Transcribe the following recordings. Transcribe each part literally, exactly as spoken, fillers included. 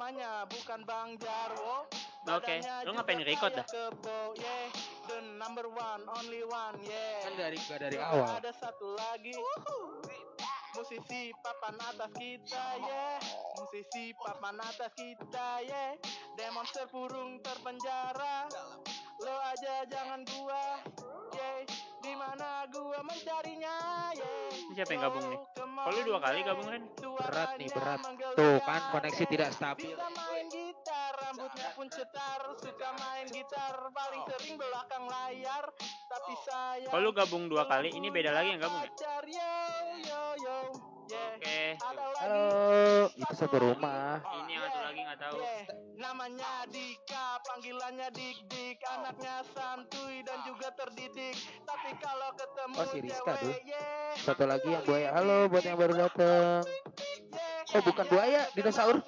namanya bukan Bang Jarwo. Oke, okay. Lu ngapain record dah? Kebo, yeah. The number one, only one, yeah. Kan dari gak dari awal. Ada satu lagi. Musisi papan atas kita, yeah. Musisi papan atas kita, yeah. Demon terkurung terpenjara. Lo aja jangan gua, yeah. Di mana gua mencarinya, yeah. Ini siapa yang gabung nih? Kalau lu dua kali gabung kan? Berat nih, berat. Tuh kan koneksi tidak stabil. Bisa main gitar, rambutnya pun cetar. Suka main gitar, paling sering belakang layar. Tapi saya kalau lu gabung dua kali, ini beda lagi yang gabung ya? Oke. Okay. Halo, itu satu rumah. Ini yang satu lagi nggak tahu. Namanya Dika, panggilannya Dik Dik, anaknya santuy dan juga terdidik. Tapi kalau ketemu oh, si Rizka tuh. Yeah. Satu lagi yang buaya. Halo buat yang baru datang. Oh bukan buaya, dinosaurus.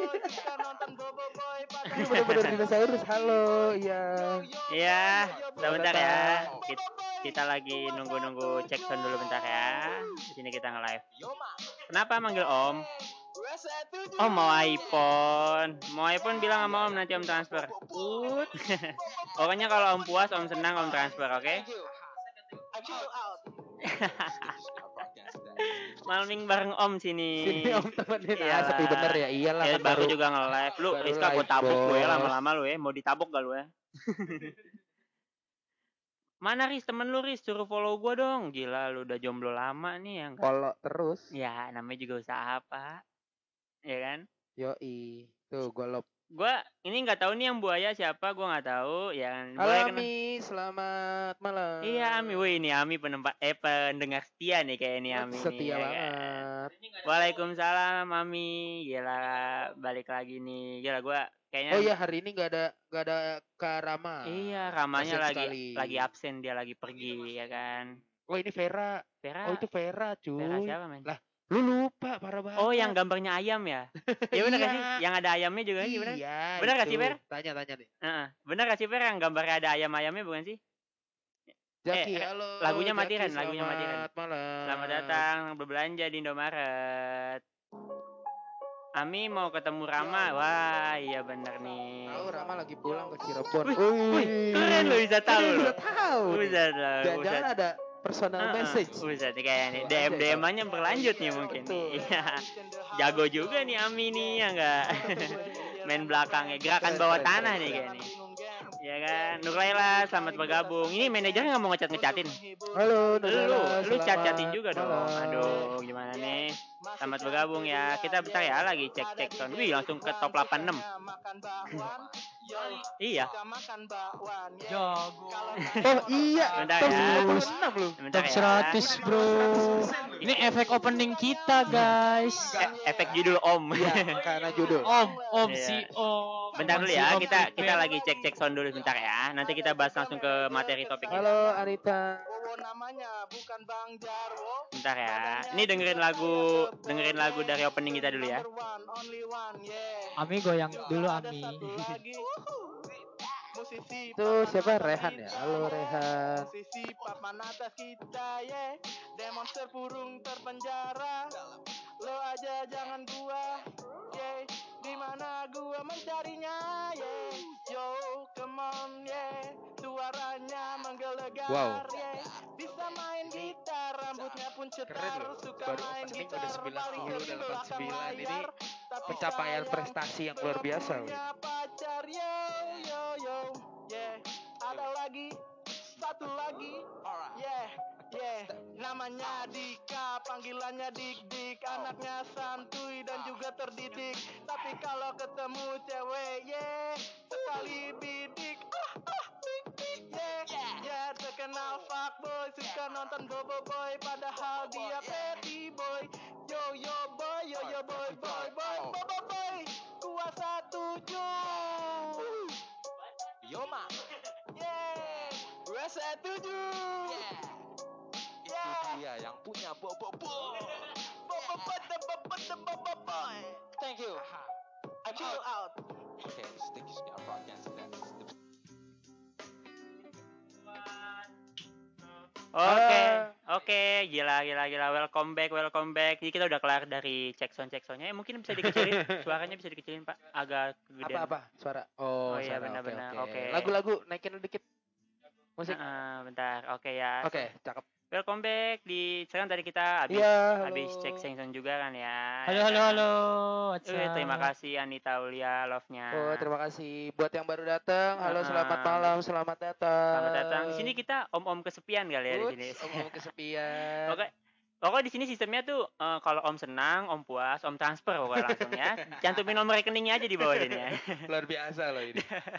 Ini benar-benar dinosaurus. Halo, iya. Iya, bentar ya. Kita, kita lagi nunggu-nunggu cek sound dulu bentar ya. Di sini kita nge-live. Kenapa manggil Om? Oh mau iPhone. Mau iPhone bilang sama Om nanti Om transfer. Ut. Pokoknya kalau Om puas, Om senang, Om transfer, oke? Okay? Malming bareng Om sini. Sini Om temenin. Ah, sepi bener ya. Iyalah ya, kan baru baru juga nge-live. Lu Rizka gue tabuk gue ya lama-lama lu ya. Mau ditabuk gak lu ya? Mana Riz, temen lu Riz, suruh follow gue dong. Gila lu udah jomblo lama nih ya. Follow terus. Ya namanya juga usaha apa. Ya kan? Yoi. Tuh golop. Gue ini nggak tahu nih yang buaya siapa, gue nggak tahu. Yang halo Ami, kena... selamat malam. Iya Ami, wih ini Ami penempat eh pendengar setia nih kayak ini Ami. Setia nih, banget. Ya, Waalaikumsalam Ami, gila balik lagi nih, gila gue kayaknya. Oh iya hari ini nggak ada nggak ada Kak Rama. Iya Ramanya absen lagi sekali. lagi absen, dia lagi pergi ya kan. Oh ini Vera. Vera. Oh itu Vera cuy. Vera siapa men? Lah lu lupa parah banget. Oh yang gambarnya ayam ya? Ya benar gak sih? Yang ada ayamnya juga sih benar? Iya. Benar gak sih Ver? Tanya-tanya deh. Uh-uh. Benar gak sih Ver yang gambarnya ada ayam-ayamnya bukan sih? Jaki, eh, halo. Lagunya Jaki, mati kan, lagunya mati kan. Selamat malam. Selamat datang berbelanja di Indomaret. Ami mau ketemu Rama. Wah, iya benar nih. Tahu Rama lagi pulang ke Cirebon. Wih, wih, keren lu bisa tahu. Bisa tahu. Bisa tahu. Jangan-jangan ada personal uh, message. Bisa nih kayak nih. D M D M-nya berlanjut nih mungkin. Iya. Jago juga nih Ami nih ya enggak. Main belakangnya gerakan bawah tanah nih kayak nih. Ya kan, Nurlaila selamat bergabung. Ini manajernya nggak mau ngecat ngecatin. Halo, Nurlaila. Lu, lu cat catin juga dong. Aduh, gimana nih? Selamat bergabung ya. Kita bentar ya lagi cek cek sound. Wih, langsung ke top delapan puluh enam. Iya. Jago. Oh iya. Bentar ya. enam lu. Bentar top seratus ya. bro. Ini efek opening kita guys. E- efek judul Om. Ya, karena judul. Om, Om iya. si Om. Bentar dulu ya. Si Kita kita lagi cek cek sound dulu bentar ya. Nanti kita bahas langsung ke materi topik. Halo Anita. Namanya bukan Bang Jarwo. Bentar ya. Ini dengerin lagu dengerin lagu dari opening kita dulu ya. Ami goyang dulu Ami. Tuh siapa Rehan ya? Halo Rehan. Musisi papan atas kita ya. Demon terkurung terpenjara. Lo aja jangan gua. Yeah. Di mana gua mencarinya yeah. Yo come on yeah. Suaranya menggelegar wow. yeah. Bisa main gitar, rambutnya pun cetar. Suka baru main gitar, sembilan paling puluh sering delapan puluh belakang sembilan ini layar. pencapaian prestasi yang luar biasa. Pacar yo yo yo yeah. Ada lagi satu lagi yeah yeah. Namanya Dika, panggilannya Dik Dik, anaknya santuy dan juga terdidik. Tapi kalau ketemu cewek yeah sekali bidik ah ah dik dik yeah yeah. Terkenal fuckboy, suka nonton bobo boy, padahal dia petty boy. Yo yo boy yo yo boy boy boy bobo boy. Kuasa tujuh. Yo ma. Yeah. Gue setuju. Yeah. Itu dia yang punya bobo boy. Bobo boy, bobo bobo bobo boy. Thank you. I chill out. Okay, stick your podcast. Oke, Oke, gila gila gila. Welcome back, welcome back. Jadi kita udah kelar dari check sound check soundnya. Eh, mungkin bisa dikecilin, suaranya bisa dikecilin Pak, agak kegedean. Apa-apa? Suara. Oh, Oh iya, suara. Oke, benar-benar. oke. Oke. Lagu-lagu naikin dikit. Musik. Heeh, bentar. Oke ya. Oke, cakep. Welcome back di sekarang tadi kita habis Iya, halo. habis cek sound juga kan ya. Halo ya halo kan? halo. What's Eh, up? terima kasih Anita Ulia love-nya. Oh, terima kasih buat yang baru datang. Halo, Heeh. selamat malam, selamat datang. Selamat datang. Di sini kita om-om kesepian kali ya di sini. Uts, om-om kesepian. Oke. Pokoknya di sini sistemnya tuh eh, kalau om senang, om puas, om transfer pokoknya langsung ya. Cantumin nomor rekeningnya aja di bawah sini ya. Luar biasa loh ini.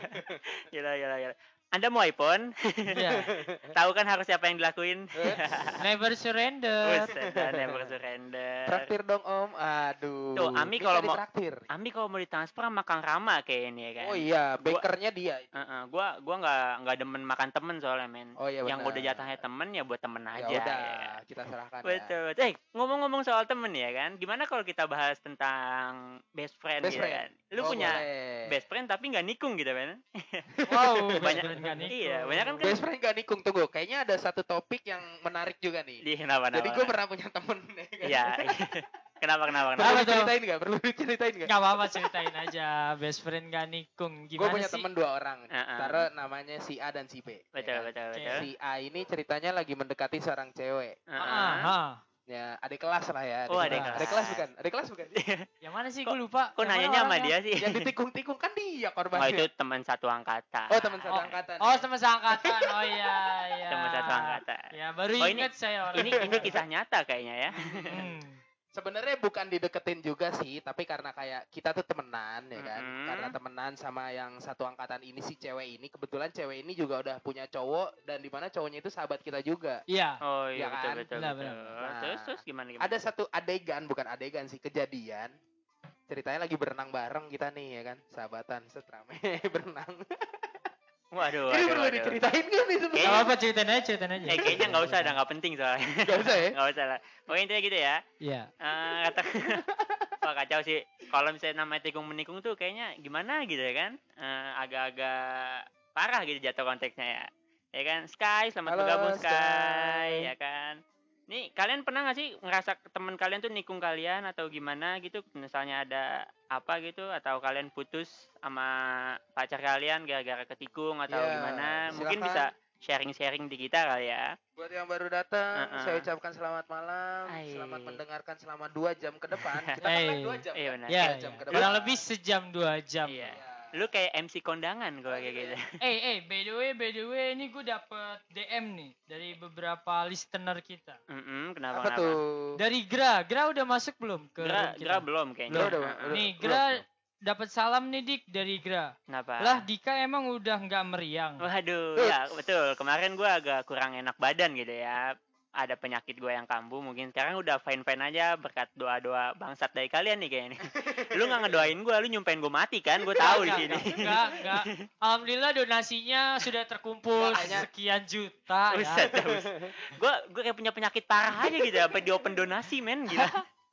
Gila gila gila. Anda mau iPhone? Iya. Tahu kan harus siapa yang dilakuin? Never surrender. Buset, dah, never surrender. Traktir dong om. Aduh. Tuh, Ami Minta kalau mau- ditraktir. Ami kalau mau ditransfer sama Kang Rama kayak ini ya kan. Oh iya, Gua- bankernya dia. Heeh, gua gua nggak nggak demen makan temen soalnya men. Oh iya Yang benar. udah jatahnya temen ya buat temen Ya aja. udah, ya. kita serahkan ya. Betul. betul. Eh, ngomong-ngomong soal temen ya kan, gimana kalau kita bahas tentang best friend Best gitu friend. kan? Lu Oh, punya boleh. best friend tapi nggak nikung gitu kan? Wow, Banyak- banyak kan iya, banyak kan kan. Best friend gak nikung, tunggu. Kayaknya ada satu topik yang menarik juga nih. Di kenapa Jadi kenapa? gue pernah punya temen. ya kan? Iya. kenapa kenapa kenapa? Perlu Apa tuh? ceritain gak? Perlu ceritain gak? Gak apa-apa, ceritain aja. Best friend gak nikung. Gue Gimana punya sih? temen dua orang. Heeh. Taruh namanya si A dan si B. ya Betul kan? betul Oke. betul. Si A ini ceritanya lagi mendekati seorang cewek. Heeh. Ah, ah. Ya, adik kelas lah ya. Oh, adik Adik kelas. kelas bukan? Adik kelas bukan? Yang mana sih? Kok- Gue lupa. Kok Yang mana nanyanya sama orangnya? dia sih? Yang ditikung-tikung kan dia Oh, korbannya. itu teman satu angkatan. Oh, teman satu Oh, angkatan. Oh, ya? teman seangkatan. Oh iya, iya. Teman satu angkatan. Ya, baru Oh, ini- ingat saya orang. Ini ini kisah nyata kayaknya ya. Hmm. Sebenarnya bukan dideketin juga sih, tapi karena kayak kita tuh temenan ya kan. Mm-mm. Karena temenan sama yang satu angkatan ini si cewek ini, kebetulan cewek ini juga udah punya cowok dan di mana cowoknya itu sahabat kita juga. Iya. Oh iya Ya betul kan? betul. Benar, betul. benar. Nah, terus terus gimana gimana? Ada satu adegan, bukan adegan sih, kejadian. Ceritanya lagi berenang bareng kita nih ya kan, sahabatan setrame berenang. Waduh, Ini waduh, perlu waduh. diceritain gak nih Gak sebenarnya? Kayaknya- apa-apa, ceritain aja, ceritain aja. Eh kayaknya nggak usah, udah nggak penting soalnya. Gak usah ya? Nggak usah lah. Pokoknya intinya gitu ya. Iya. Eh kata Wah kacau sih. Kalau misalnya namanya tikung menikung tuh kayaknya gimana gitu ya kan? Eh, agak-agak parah gitu jatuh konteksnya ya. Ya kan? Sky, selamat Halo, bergabung Sky. Sky. Ya kan? Nih kalian pernah nggak sih ngerasa teman kalian tuh nikung kalian atau gimana gitu? Misalnya ada apa gitu atau kalian putus sama pacar kalian gara-gara ketikung atau Ya, gimana? Mungkin silakan. bisa sharing-sharing di kita kali ya. Buat yang baru datang, Uh-uh. saya ucapkan selamat malam, Ai. selamat mendengarkan selama dua jam ke depan. Kita kan Eh. live dua jam. Iya kan? benar. Ya, Dua jam ya. ke depan. Kurang lebih sejam dua jam. Iya. Ya. Lu kayak M C kondangan kalau kayak gitu. Eh, eh, by the way, by the way, ini gue dapet D M nih dari beberapa listener kita. Mm-mm, kenapa Apa kenapa? tuh? Dari Gra, Gra udah masuk belum ke Gra, room kita? Gra belum kayaknya. Belum, udah, Heeh. udah. Nih, belum, Gra belum. dapat salam nih Dik dari Gra. Kenapa? Lah, Dika emang udah nggak meriang. Waduh, Uts. ya betul. Kemarin gua agak kurang enak badan gitu ya. Ada penyakit gua yang kambuh, mungkin sekarang udah fine-fine aja berkat doa-doa bangsat dari kalian nih kayaknya. Lu nggak ngedoain gua, lu nyumpain gua mati kan? Gua tahu di sini. Enggak, enggak. Alhamdulillah donasinya sudah terkumpul Makanya- sekian juta Buset, ya. bus. Gua gua kayak punya penyakit parah aja gitu, apa di open donasi men gila.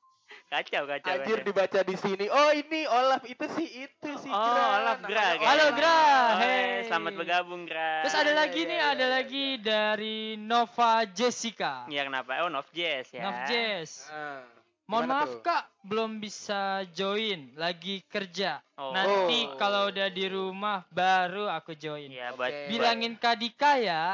Kacau, kacau. Anjir kacau. dibaca di sini. Oh ini Olaf itu sih itu sih. Oh, Gra. Olaf Gra. Namanya kayaknya. Halo, Gra. Oh, Hey. Selamat bergabung Gra. Terus ada Iya, lagi iya, nih, iya, ada iya, lagi dari Nova Jessica. Iya kenapa? Oh, Nov Jazz ya. Nov Jess. Ah, Mohon gimana maaf tuh? Kak, belum bisa join, lagi kerja. Oh. Nanti Oh. kalau udah di rumah baru aku join. Iya, buat Oke. Bilangin Kak Dika ya.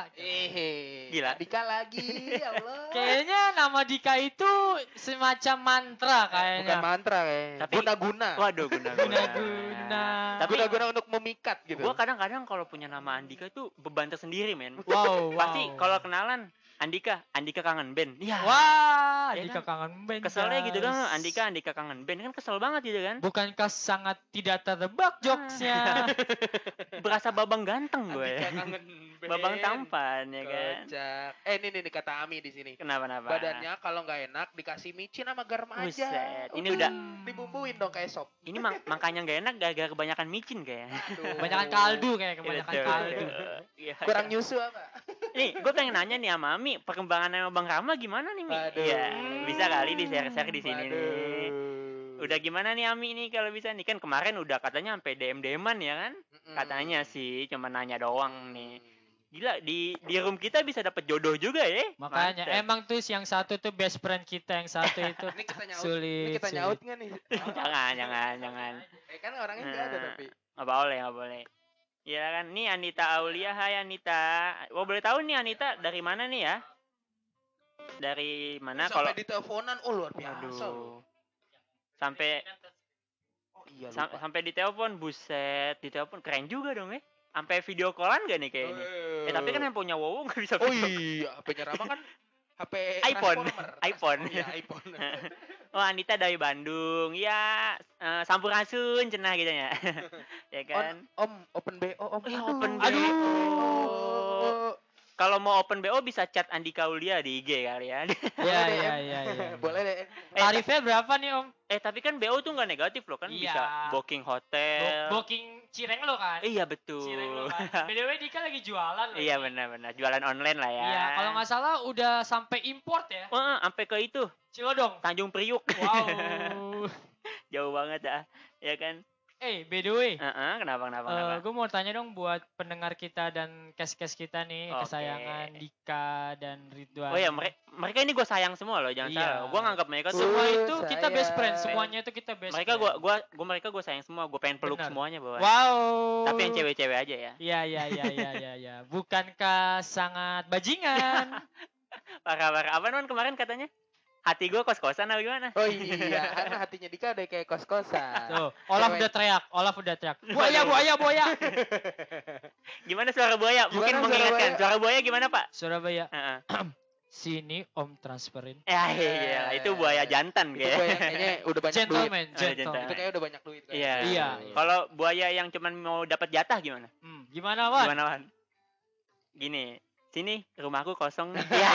Eh, Gila. Dika lagi, ya Allah. Kayaknya nama Dika itu semacam mantra Bukan kayaknya. mantra kayak. Tapi- Guna-guna. Waduh, guna-guna. Guna-guna. Tapi Guna-guna untuk memikat gitu. gua kadang-kadang kalau punya nama Andika tuh beban tersendiri, men. Wow, wow. Pasti kalau kenalan Andika, Andika kangen band. Iya. Wah, Ya Dika kangen band. Keselnya gitu guys. dong, Andika, Andika kangen band kan kesel banget gitu kan. Bukankah sangat tidak tertebak jokesnya? Berasa babang ganteng gue Andika ya. kangen band. Babang tampan ya kan. Kocak. Eh ini nih, nih kata Ami di sini. Kenapa kenapa? Badannya kalau nggak enak dikasih micin sama garam aja. Buset, ini udah- dibumbuin dong kayak sop. Ini mak makanya nggak enak gara-gara kebanyakan micin kayaknya. Aduh. Kebanyakan kaldu kayak kebanyakan Betul, kaldu. betul. Iya, Kurang iya. nyusu apa? Nih, gue pengen nanya nih sama Ami, perkembangan sama Bang Rama gimana nih, Mi? Waduh. Iya, bisa kali di share-share di sini nih. Waduh. Udah gimana nih Ami nih kalau bisa nih kan kemarin udah katanya sampai D M D M-an ya kan? Mm-mm. Katanya sih cuma nanya doang nih. Gila, di di room kita bisa dapat jodoh juga ya. Makanya Mantap. emang tuh yang satu tuh best friend kita, yang satu itu Ini kita nyaut. sulit. Ini kita sulit. nyaut nggak nih? Jangan, jangan, jangan. Eh kan orangnya nggak ada Nah, tapi. Nggak boleh, nggak boleh. Ya kan, nih Anita Aulia, hai Anita. Oh boleh tahu nih Anita dari mana nih ya? Dari mana kalau? Sampai diteleponan, oh luar biasa. Aduh. Sampai Oh iya sam- lupa. sampai ditelepon, buset, ditelepon keren juga dong ya. Sampai video callan gak nih kayak ini? Eh tapi kan yang punya Wowo nggak bisa Oh video. iya, H P-nya Rama kan H P iPhone. Transformer. iPhone. Oh, iya, iPhone. Oh Anita dari Bandung, ya eh, sampurasun cenah gitu ya, ya kan? On, Om, open B O, Om. Eh, Aduh. open B O. Aduh. Kalau mau open B O bisa chat Andika Aulia di I G kali ya. Iya, iya, iya, iya. Boleh deh. Tarifnya berapa nih, Om? Eh tapi kan B O tuh nggak negatif loh kan, Iya. bisa booking hotel. Bo- booking cireng lo kan? Iya betul. Cireng lo kan. B D W Dika lagi jualan loh. Iya benar-benar jualan online lah ya. Iya, kalau nggak salah udah sampai import ya. Wah, sampai ke itu Cilodong. Tanjung Priuk. Wow. Jauh banget dah, ya kan? Eh, by the way, Heeh, kenapa kenapa kenapa? gue mau tanya dong buat pendengar kita dan kes-kes kita nih, Oke. kesayangan Dika dan Ridwan. Oh ya, mereka mereka ini gue sayang semua loh, jangan Iya. salah. Gue nganggap mereka tuh Semua Uh, itu kita best friend, sayang. semuanya itu kita best mereka friend. gue gua gua mereka gue sayang semua, gue pengen peluk Benar. semuanya bawa. Wow. Tapi yang cewek-cewek aja ya. Iya, iya, iya, iya, iya, iya. Bukankah sangat bajingan? Parah parah. Apa non kemarin katanya? Hati gue kos-kosan apa gimana? Oh iya, karena hatinya Dika udah kayak kos-kosan. Tuh, Olaf Cewek. udah teriak, Olaf udah teriak. Buaya, buaya, buaya. Gimana suara buaya? Mungkin Gimana suara mengingatkan. buaya? Suara buaya gimana pak? Surabaya, Heeh. sini Om transferin. Ya iya, itu buaya jantan Itu kayak. buaya kayaknya udah banyak duit. Gentleman, Oh, gentleman. gentleman. Itu kayaknya udah banyak duit. kayaknya. Iya. Iya. Kalau buaya yang cuman mau dapat jatah gimana? Hmm, gimana, Wan? Gimana Wan? Gini, sini rumahku kosong. Iya.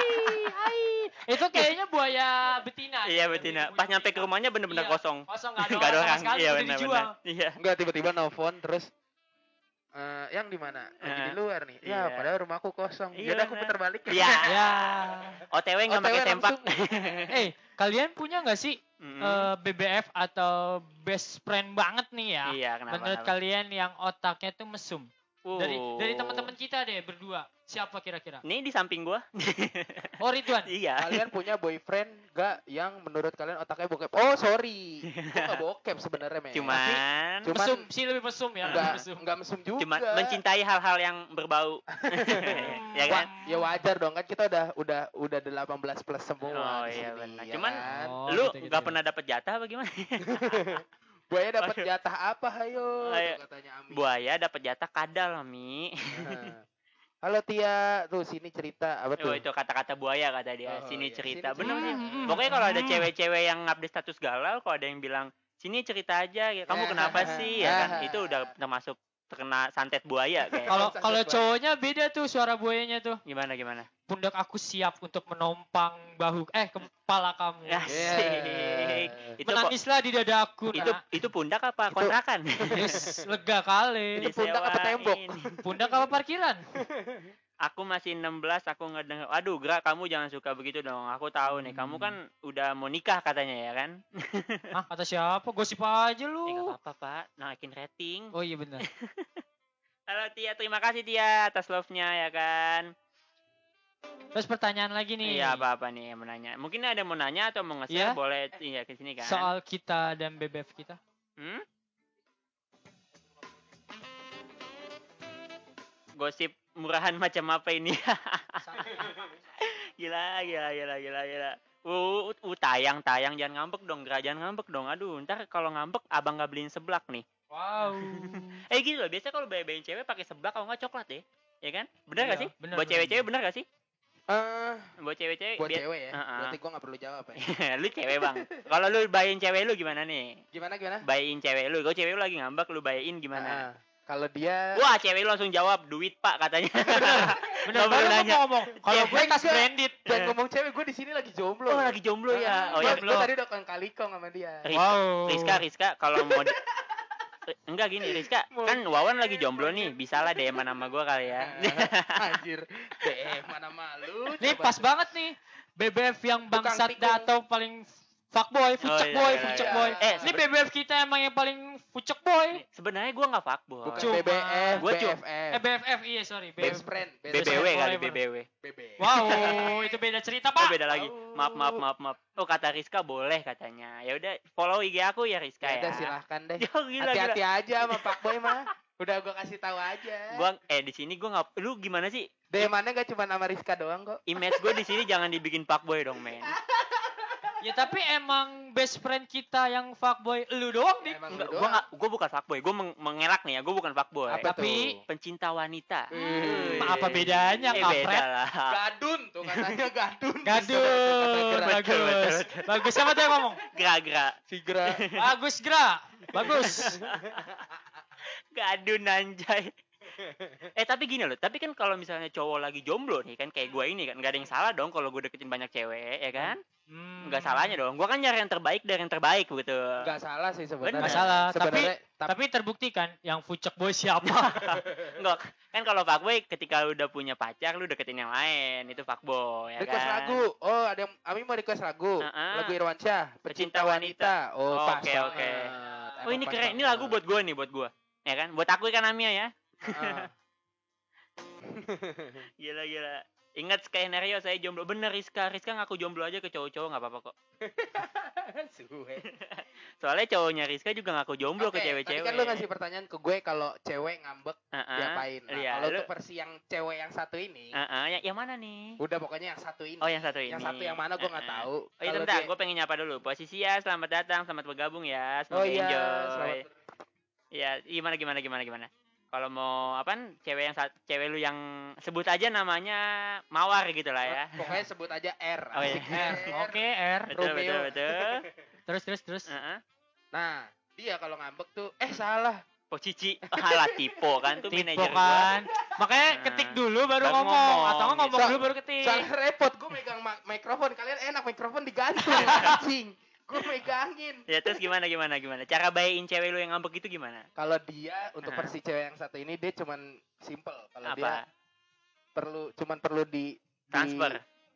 Itu kayaknya buaya betina. Iya ya, betina. lebih Pas nyampe ke bunyi-bunyi. rumahnya bener-bener Iya, kosong. Kosong, nggak ada Nggak ada orang sama orang. sekali, Iya udah benar dijual. benar. Iya. Enggak tiba-tiba nelfon terus eh yang di mana? Lagi di Heeh. luar nih. Ya, Iya. padahal rumahku kosong. Iya, Ya udah aku benar. putar balik. Iya. Ya. O T W nggak O T W pakai tempat. langsung. Eh, kalian punya nggak sih Mm. eh, B B F atau best friend banget nih ya? Iya, kenapa? Menurut kenapa? kalian yang otaknya tuh mesum. Dari Oh. dari teman-teman kita deh berdua. Siapa kira-kira? Nih di samping gua. Oh, Ridwan. Iya. Kalian punya boyfriend gak yang menurut kalian otaknya bokep? Oh sorry, gua gak bokep sebenarnya men. Cuman Cuman- Mesum sih, lebih mesum ya, lebih Enggak, mesum. enggak mesum juga. cuman mencintai hal-hal yang berbau. Ya kan? Wah, ya wajar dong kan kita udah udah udah delapan belas plus semua Oh, di iya, sini, benar. ya Cuman kan? Oh, Lu gitu-gitu nggak ya. pernah dapet jatah apa gimana? Buaya dapat jatah apa hayo? Ayo. Tuh katanya Ami. Buaya dapet jatah kadal, Mi. Nah. Halo Tia, tuh sini cerita apa Oh tuh? itu kata-kata buaya kata dia. Oh, Sini iya. cerita. Sini Bener cerita. bener. Pokoknya kalau ada cewek-cewek yang update status galau, kalau ada yang bilang sini cerita aja, ya, kamu kenapa sih? Ya kan? Itu udah termasuk terkena santet buaya kayak. Kalau Santet kalau buaya. cowoknya beda tuh suara buayanya tuh. Gimana gimana? Pundak aku siap untuk menompang bahu eh kepala kamu. Ya, Asik. Itu kok Menangislah di dadaku. itu Nak. itu pundak apa Itu- kontrakan? Yes, lega kali. Itu pundak apa tembok? Disewain. Pundak apa parkiran? Aku masih enam belas, aku ngedenger. Aduh, Gra, kamu jangan suka begitu dong. Aku tahu nih, kamu kan udah mau nikah katanya ya kan? Ah, kata siapa? Gosip aja Eh, nggak lu. apa-apa, Pak. Naikin rating. Oh iya benar. Halo Tia, terima kasih Tia atas love-nya ya kan. Terus pertanyaan lagi nih. Iya, apa-apa nih yang mau nanya. Mungkin ada yang mau nanya atau mau nge-share, Iya. boleh iya ke sini kan. Soal kita dan B B F kita. Hmm? Gosip murahan macam apa ini? Gila, gila, gila, gila, gila. Uh, uh, tayang, tayang, jangan ngambek dong, Gra, jangan ngambek dong. Aduh, ntar kalau ngambek abang nggak beliin seblak nih. Wow. Eh gitu loh, biasa kalau bayi-bayiin cewek pakai seblak kalau nggak coklat ya, ya kan? Bener nggak Iya, sih? bener, Buat bener, cewek-cewek bener nggak sih? Eh, Buat cewek-cewek. buat biar- cewek ya. Heeh. Berarti gua gak perlu jawab ya. lu cewek bang. Kalau lu bayiin cewek lu gimana nih? Gimana gimana? Bayiin cewek lu, kalau cewek lu lagi ngambek, lu bayiin gimana? Ah, kalau dia Wah, cewek lu langsung jawab duit pak katanya. Bener Nggak perlu banget nanya. ngomong. Kalau gue kas Enggak. branded. jangan ngomong cewek, gue di sini lagi jomblo. Oh lagi jomblo ya. Oh Gua- ya. jomblo. gua tadi udah kan kalikong sama dia. Rizka, Wow. Rizka, Rizka, kalau mau di- Eh, enggak gini Rizka, kan Wawan lagi jomblo nih, bisa lah D M sama gua kali ya. Anjir, deh mana malu. Nih coba. pas banget nih. B B F yang Tukang bangsat tikung. dah atau paling fuckboy, fucek iya, boy, iya, fucek iya. boy. Eh, Ini B B F kita emang yang paling fucek boy. Sebenarnya gua enggak fuckboy. Bukan Cuma- B B F, Gua cu- B F F. Eh B F F iya sorry. Best friend, B B W best friend kali forever. B B W. B B. Wow, itu beda cerita Oh, pak. beda lagi. Tahu. Maaf, maaf, maaf, maaf. Oh, kata Rizka boleh katanya. Ya udah, follow I G aku ya Rizka Ya ya. udah silahkan deh. Ya, gila, Hati-hati gila. aja sama Pak Boy mah. Udah gua kasih tahu aja. Gua eh di sini gua nggak lu gimana sih? D M-annya gak cuma nama Rizka doang kok. Image gue di sini jangan dibikin fuckboy dong, men. Ya tapi emang best friend kita yang fuckboy lu doang nih. Emang Enggak, lu gua doang. enggak gua bukan fuckboy. Gua meng- mengelak nih ya, gua bukan fuckboy. Apa Tapi- tuh? Pencinta wanita. Hmm. Wih. Apa bedanya, Eh, kampret? beda lah. Gadun tuh katanya gadun. Gaduh, Kata-kata Betul, betul, bagus. betul. Bagus siapa tuh yang ngomong? Gra-gra. Figra. Bagus Gra. Bagus. Gadun anjay. Eh tapi gini loh, tapi kan kalau misalnya cowok lagi jomblo nih kan kayak gue ini kan nggak ada yang salah dong kalau gue deketin banyak cewek ya kan? Hmm. Nggak salahnya dong. Gue kan nyari yang terbaik dari yang terbaik gitu. Gak salah sih sebenarnya. Bener. Nggak salah, Sebenarnya tapi Tapi terbukti kan yang fucek boy siapa? Enggak, kan kalau fuckboy ketika lu udah punya pacar lu deketin yang lain itu fuckboy ya request kan? lagu. Oh, ada yang Ami mau request lagu. Uh-uh. Lagu Irwansyah, Pecinta Pecinta Wanita. Oh, Oh, pas oke, banget. oke. Emang Oh ini pas keren, ini banget. lagu buat gue nih buat gue, ya kan? Buat aku kan Amia ya. Heeh. Gila gila. Ingat skenario saya jomblo bener Rizka, Rizka ngaku jomblo aja ke cowok-cowok nggak apa-apa kok. Suwe. Soalnya cowoknya Rizka juga ngaku jomblo Oke, ke cewek-cewek. Tadi kan lu ngasih pertanyaan ke gue kalau cewek ngambek Heeh. diapain. Nah, Iya, kalau lu- untuk versi yang cewek yang satu ini, Heeh, yang, yang mana nih? udah pokoknya yang satu ini. Oh yang satu ini. Yang satu yang mana gue nggak Heeh. tahu. Oh iya Kalau bentar, dia- gue pengen nyapa dulu. Posisi ya, selamat datang, selamat bergabung ya. Semoga Oh iya, enjoy. selamat. Ya, gimana gimana gimana gimana. Kalau mau apaan? Cewek yang sat- cewek lu yang sebut aja namanya Mawar gitu lah ya. Pokoknya sebut aja R. Oh, iya. asik. R. Oke R. Betul Romeo. betul betul. Terus terus terus. Heeh. Nah, dia kalau ngambek tuh, eh salah. Oh Cici, halah Tipo kan tuh Tipe manajer gua. kan. Makanya Nah, ketik dulu baru baru ngomong. ngomong, Atau nggak ngomong gitu. dulu baru ketik. Soalnya repot, gue megang ma- mikrofon. Kalian enak mikrofon digantung, anjing. Gue megangin. Ya terus gimana gimana gimana? Cara bayain cewek lu yang ngambek itu gimana? Kalau dia untuk Hah? versi cewek yang satu ini dia cuman simple. Kalau dia Apa? perlu cuman perlu di Transfer.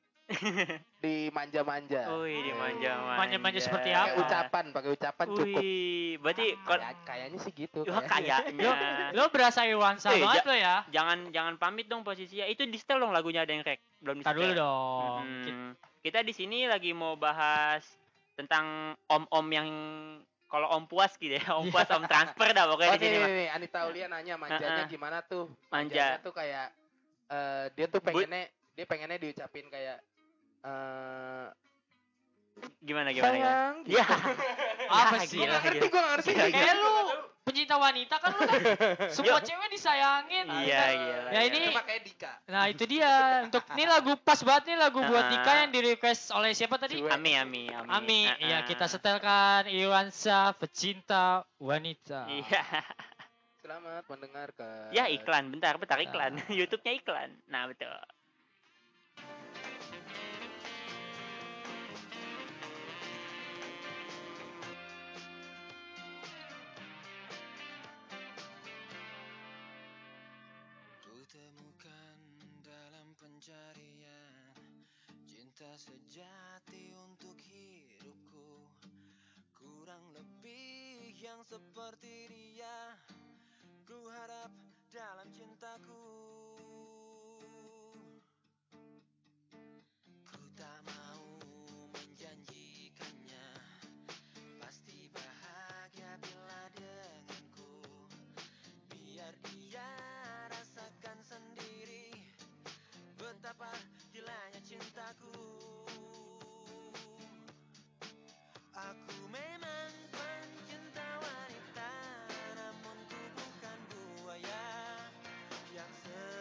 di manja-manja. Wih, dimanja-manja. Manja-manja seperti Pakai apa? ucapan, pakai ucapan cukup. Wih, berarti kok Kayak- kayaknya sih gitu. Wah, kayaknya. kayaknya. Lo berasa Iwansa Eh, banget ja- lo ya. Jangan jangan pamit dong posisinya. Itu di setel dong lagunya ada yang rek. Belum di Tar dulu dong. Kita- Hmm. Kita di sini lagi mau bahas tentang om-om yang kalau om puas gitu ya, om puas, om transfer dah pokoknya Oh di sini nih, mah. nih, nih, Anita Aulia nanya manjanya Heeh. gimana tuh? Manja. Manjanya tuh kayak eh, dia tuh Bu- pengennya dia pengennya diucapin kayak eh Gimana gimana gimana? sayang. Ya. Apa Ya, sih? Gue gila, gak ngerti, gila. gue gak ngerti. Gila, Kayak lu pencinta wanita kan lu kan semua Yuk. cewek disayangin. Iya, gila. Ya, ini- Cuma kayak Dika. Nah itu dia. Untuk ini lagu pas banget nih lagu buat Ah. Dika yang di request oleh siapa tadi? Cuek. Ami Ami Ami. Ami. Ah, Iya ah. kita setelkan Iwansa pecinta wanita. Iya. Selamat mendengarkan. Ya iklan, bentar, bentar iklan. Nah. YouTube-nya iklan. Nah, betul. Kutemukan dalam pencarian cinta sejati untuk hidupku. Kurang lebih yang seperti dia ku harap dalam cintaku. Ku tak mau menjanjikannya pasti bahagia bila denganku. Biar dia rasakan sendiri betapa gilanya cintaku. Aku memang pencinta wanita, namun ku bukan buaya yang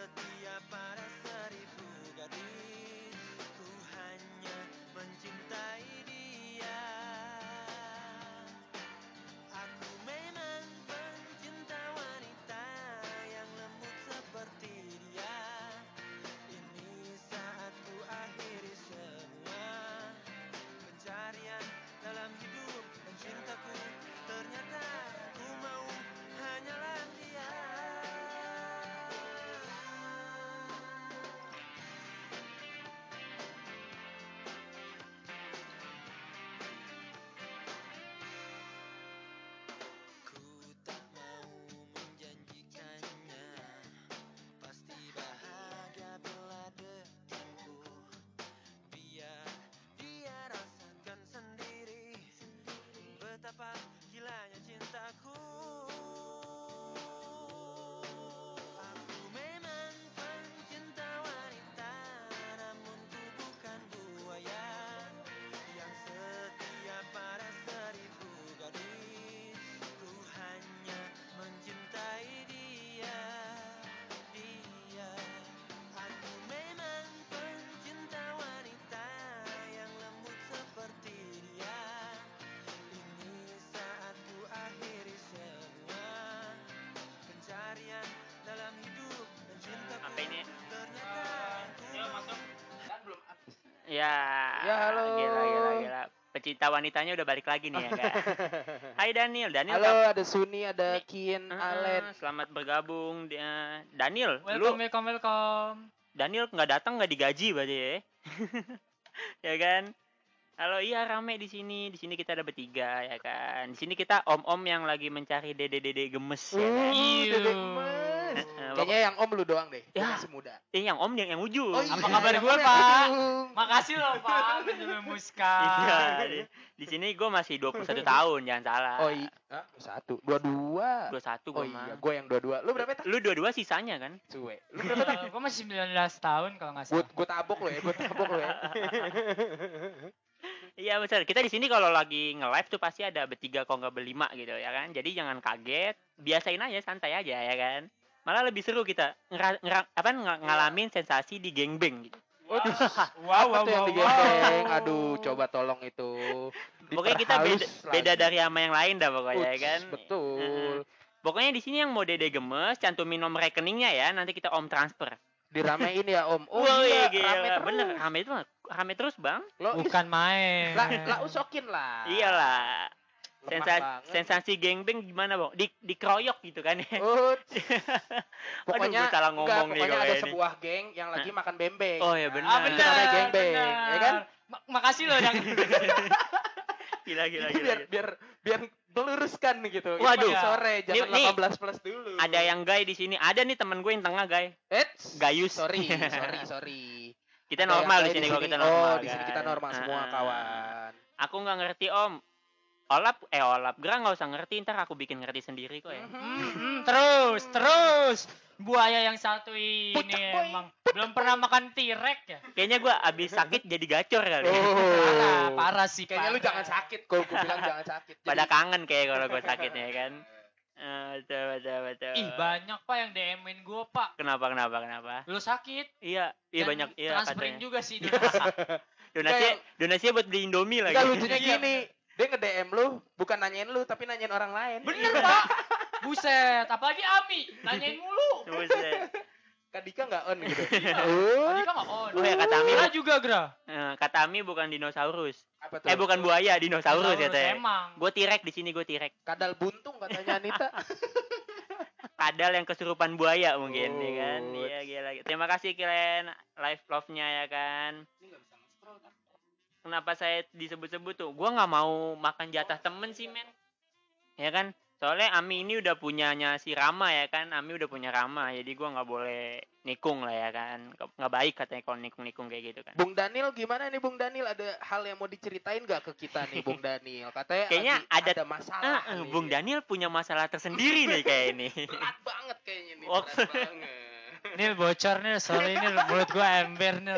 Ya. Ya, halo. Gila gila gila. Pecinta wanitanya udah balik lagi nih ya kan. Hai Daniel, Daniel. Halo, kap- ada Suni, ada Nih, Kian, Eh, Alen. eh, selamat bergabung dia. Daniel, Welcome, lu welcome, welcome. Daniel nggak datang nggak digaji berarti ya. Ya kan? Halo, iya rame di sini. Di sini kita ada bertiga ya kan. Di sini kita om-om yang lagi mencari dede-dede gemes ya kan. Uh, Iya. Dede gemes. Eh, eh, Kayaknya yang Om lu doang deh. Dia Ya. masih muda. Eh, yang om yang yang ujung. Oh, iya, Apa kabar yang gua, Om yang Pak? ujung. Makasih loh Pak, udah memuska. Iya, di, di sini gue masih dua puluh satu tahun, jangan salah. Oh iya, ah, satu, dua dua. dua puluh satu Oh gue mah. iya, gue yang dua dua. Lu berapa tak? Lu dua-dua sisanya kan? Cuek. Lu berapa tak? Gue masih sembilan belas tahun kalau nggak Gue salah. gue tabok lo ya, gue tabok lo ya. Iya betul. Kita di sini kalau lagi nge-live tuh pasti ada bertiga kalau nggak berlima gitu ya kan. Jadi jangan kaget, biasain aja, santai aja ya kan. Malah lebih seru kita ngera, ngera- apa ng- ngalamin sensasi di gengbeng gitu. Waduh, Wow, apa wow, tuh yang wow, digembeng? wow. Aduh, coba tolong itu. Pokoknya kita beda, Diperhalus beda lagi. dari sama yang lain dah pokoknya ya Uts, kan. betul. Heeh. Pokoknya di sini yang mau dede gemes, cantumin nomor rekeningnya ya, nanti kita om transfer. Diramein ya Om. Oh Woi, iya, gila. rame terus. Bener, rame itu rame terus bang. Lo Bukan main. lah, lah usokin lah. Iyalah. Lemah Sensasi, banget. sensasi gengbeng gimana bang? Di dikeroyok gitu kan ya? Uts. Pokoknya Aduh, gua salah enggak, ngomong nih pokoknya kalau ada ini. sebuah geng yang lagi makan bembeng. Oh, ya Nah, benar. Ah itu benar. namanya gengbeng, benar. ya kan? Ma- makasih loh yang Gila gila Itu gila. biar biar biar meluruskan gitu. Ini Waduh. masih sore, jangan Nih- nih. delapan belas plus dulu. Ada yang gay di sini. Ada nih temen gue yang tengah gay. Eits, Gayus. sorry, sorry, sorry. Kita Ada normal yang di gay sini kalau kita normal. Oh, di sini kan. kita normal semua, Ah. kawan. Aku nggak ngerti om. Olap, eh olap. Gra nggak usah ngerti. Ntar aku bikin ngerti sendiri kok ya. Hmm, terus, terus. Buaya yang satu ini Pucak, boy. emang belum pernah makan tirek ya. Kayaknya gue abis sakit jadi gacor kali. Parah, Oh. parah sih. Kayaknya lu parah. jangan sakit, kalau gue bilang jangan sakit. Pada Jadi- kangen kayak kalau gue sakitnya kan. Eh, betul betul betul. Ih banyak pak yang D M-in gue pak. Kenapa kenapa kenapa? Lu sakit. Iya, iya Dan banyak iya transferin katanya. juga sih donasi. Donasi Enggak, donasinya buat beli Indomie lagi. Enggak, lucunya Iya, gini. Dia nge-D M lu, bukan nanyain lu, tapi nanyain orang lain. Bener pak. Buset. Apalagi Ami. Nanyain mulu. Buset. Kak Dika nggak on gitu. Iya. Oh, Tadi kan nggak on. Oh ya kata Ami, Gra juga Gra. eh, kata Ami bukan dinosaurus. apa tuh? Eh bukan buaya, dinosaurus ya teh. Emang. Gue tirek di sini gue tirek. Kadal buntung katanya Anita. Kadal yang kesurupan buaya mungkin ya kan. Oh. Iya gila. Terima kasih kalian live love-nya ya kan. Kenapa saya disebut-sebut tuh? Gua nggak mau makan jatah temen sih men. Ya kan? Soalnya Ami ini udah punyanya si Rama ya kan. Ami udah punya Rama, jadi gua nggak boleh nikung lah ya kan. Nggak baik katanya kalau nikung-nikung kayak gitu kan. Bung Daniel gimana nih Bung Daniel? Ada hal yang mau diceritain gak ke kita nih Bung Daniel? Katanya Kayaknya lagi ada- ada masalah. Ah, eh, nih. Bung Daniel punya masalah tersendiri nih kayak ini. Berat banget kayaknya nih. Oh. Berat banget. Nil bocor nih, soalnya ini mulut gua ember Nil.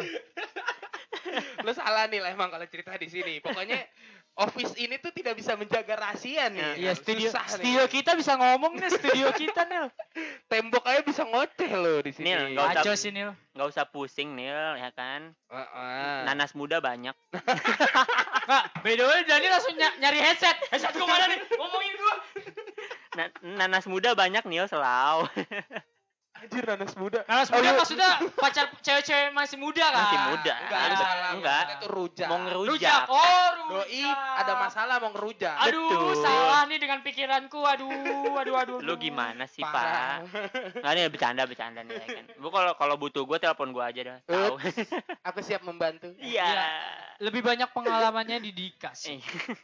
Lu salah nih lah emang kalau cerita di sini. Pokoknya office ini tuh tidak bisa menjaga rahasia nih. Iya, studio Susah studio nih. kita bisa ngomong nih, studio kita Nil. Tembok aja bisa ngoceh loh di sini. Nil, nggak usah- Kacau sih Nil. Nggak usah pusing Nil ya kan. Heeh. Nanas muda banyak. Kak, by the way Dani langsung ny- nyari headset. Headset gua mana nih? Ngomongin gua. Na- nanas muda banyak Nil selau. Anjir nanas muda. Nanas Oh, muda lu- maksudnya pacar cewek-cewek masih muda kan? Masih muda. Enggak, lu salah. Enggak. Maksudnya tuh rujak. Mau Rujak. ngerujak. Oh, rujak. Doi ada masalah mau ngerujak. Aduh, Betul. salah nih dengan pikiranku. Aduh, aduh, aduh. Lu aduh. gimana sih Parah. Pak? Nggak nih bercanda bercanda nih ya kan. Bu kalau kalau butuh gue telepon gue aja dah. Tahu. Aku siap membantu. Iya. Lebih banyak pengalamannya di Dika sih. Eh.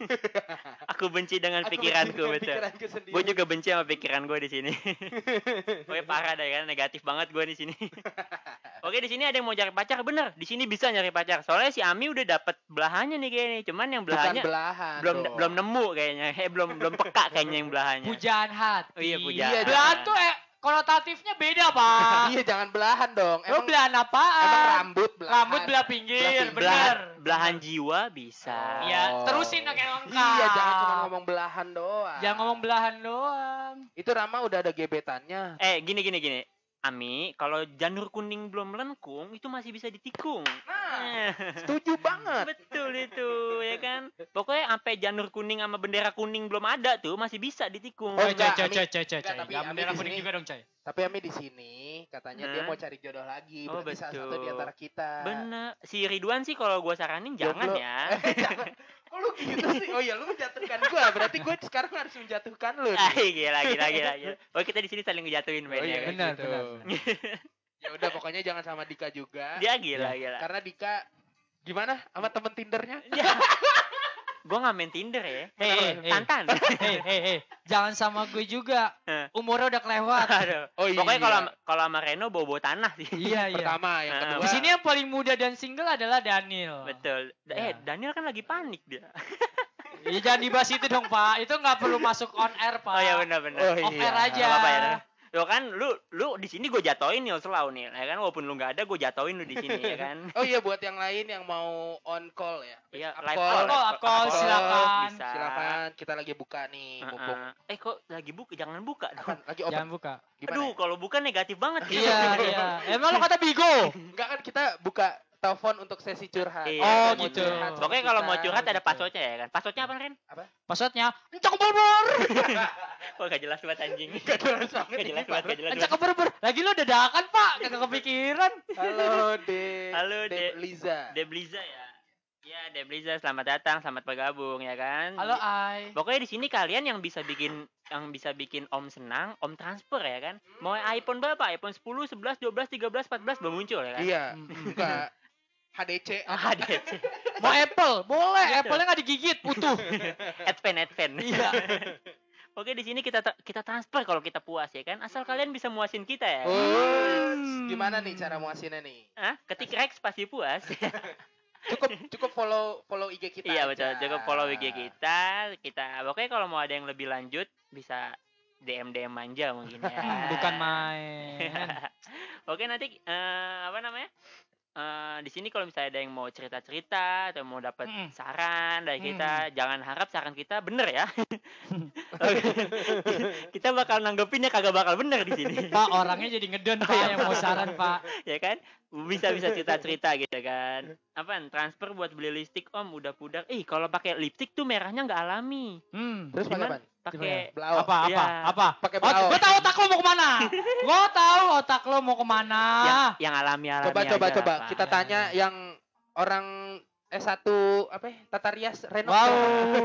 Aku benci dengan Aku pikiranku dengan betul. pikiranku sendiri. Gue juga benci sama pikiran gue di sini. Pokoknya parah deh kan, negatif banget gue di sini. Oke di sini ada yang mau cari pacar, bener. Di sini bisa nyari pacar. Soalnya si Ami udah dapet belahannya nih kayaknya. Cuman yang Bukan belahannya belahan. belum dong. belum nemu kayaknya. Eh belum belum peka kayaknya yang belahannya. Pujaan hati. Oh iya, pujaan. Iya, Belahan tuh eh, konotatifnya beda, Pak. Iya jangan belahan dong. Lo Emang belahan apaan? emang rambut belahan. Rambut belah pinggir, Belah pinggir. Belahan, bener. belahan jiwa bisa. Oh. Iya, terusin dong kayak lengkap. Iya jangan cuma ngomong belahan doang. Jangan ngomong belahan doang. Itu Rama udah ada gebetannya. Eh gini gini gini. Ami, kalau janur kuning belum melengkung itu masih bisa ditikung. Nah, Setuju banget. Betul itu, ya kan? Pokoknya sampai janur kuning sama bendera kuning belum ada tuh, masih bisa ditikung. Oh, Coy, enggak, coy, Ami. coy, coy, coy, Enggak, coy. tapi Jangan Ami bendera di kuning sini- juga dong, coy. Tapi Ami di sini katanya dia Hah? mau cari jodoh lagi. Oh, Berarti salah satu di betul. antara kita. Bener. Si Ridwan sih kalau gue saranin jangan Jomblo. ya. Eh, jangan. Kok lu gitu sih? Oh iya, lu menjatuhkan gua. Berarti gua sekarang harus menjatuhkan lu. Ah, nih. gila, gila, gila, gila. Oh, kita di sini saling ngejatuhin, men. Oh iya, ya kan? benar, gitu. benar, Ya udah, pokoknya jangan sama Dika juga. Dia gila, gila. Karena Dika gimana sama temen Tindernya? Gue nggak main Tinder ya. Hei, hei, hei. Tantan. Hei, hei, hei. Jangan sama gue juga. Eh. Umurnya udah kelewat. Aduh. Oh iya. Pokoknya kalau kalau sama Reno bawa-bawa tanah sih. Iya, iya. Pertama, yang Ah, kedua. Di sini yang paling muda dan single adalah Daniel. Betul. Da- Ya. Eh, Daniel kan lagi panik dia. Ya, jangan dibahas itu dong, Pak. Itu nggak perlu masuk on air, Pak. Oh ya benar-benar. Oh, Off iya. air aja. Gak apa-apa ya. Lo kan lu lu di sini gue jatoin nih selalu nih, ya kan walaupun lu nggak ada gue jatoin lu di sini ya kan. Oh iya, buat yang lain yang mau on call ya. Iya, Up live call. call, Up call, up call, Up silakan. Bisa. Silakan, kita lagi buka nih, mumpung. Uh-uh. Eh kok lagi buka? Jangan buka dong. Apaan? Lagi open. Jangan buka. Gimana? Aduh, ya? kalau bukan negatif banget. Iya, iya. Emang lo kata bigo? Enggak kan kita buka telepon untuk sesi curhat. Iya, Oh, Mau gitu. curhat sama Pokoknya kalau mau kita. curhat ada gitu. passwordnya ya kan. Passwordnya apa Ren? Passwordnya encak berbur. Wah gak jelas banget anjing. Gak jelas banget. Gak jelas ini, banget, Pak. gak jelas Encak banget. berbur. Lagi lo dadakan, Pak. Kagak kepikiran. Halo De. Halo, De De. Liza. Debliza ya. Ya Debliza selamat datang, selamat bergabung ya kan. Halo, Ai. Pokoknya di sini kalian yang bisa bikin yang bisa bikin Om senang, Om transfer ya kan. Mau iPhone berapa? iPhone sepuluh, sebelas, dua belas, tiga belas, empat belas belum muncul ya kan. Iya. Hmm. Buka H D C. Ah, D C. Mau Apple? Boleh. Gitu. Apple-nya nggak digigit, utuh. Advan, Advan. Iya. Oke di sini kita tra- kita transfer kalau kita puas ya kan. Asal kalian bisa muasin kita ya. Oh, gimana nih cara muasinnya nih? Hah? Ketik Rex pasti puas. Cukup cukup follow follow I G kita. Iya aja. betul. Cukup follow I G kita. Kita pokoknya kalau mau ada yang lebih lanjut bisa D M D M manja mungkin ya. Hmm, bukan main. Oke nanti eh, apa namanya? Eh, di sini kalau misalnya ada yang mau cerita-cerita atau mau dapat Mm. saran dari Mm. kita, jangan harap saran kita bener ya. Kita bakal nanggepinnya kagak bakal bener di sini. Pak, orangnya jadi ngedon, Pak, yang mau saran, Pak. Ya kan? Bisa-bisa cerita-cerita gitu kan. Apaan? Transfer buat beli lipstick Om udah pudar. Ih, kalau pakai lipstick tuh merahnya nggak alami. Hmm. Terus pakai Gimana? apa? Pakai Blau. Apa, apa, Iya. apa? Pakai Oh, blau. gue tahu otak lo mau kemana. Gue tahu otak lo mau kemana. yang, yang alami-alami Coba coba aja, coba Pak. kita tanya yang orang S satu apa ya? Tata rias Reno. Wow.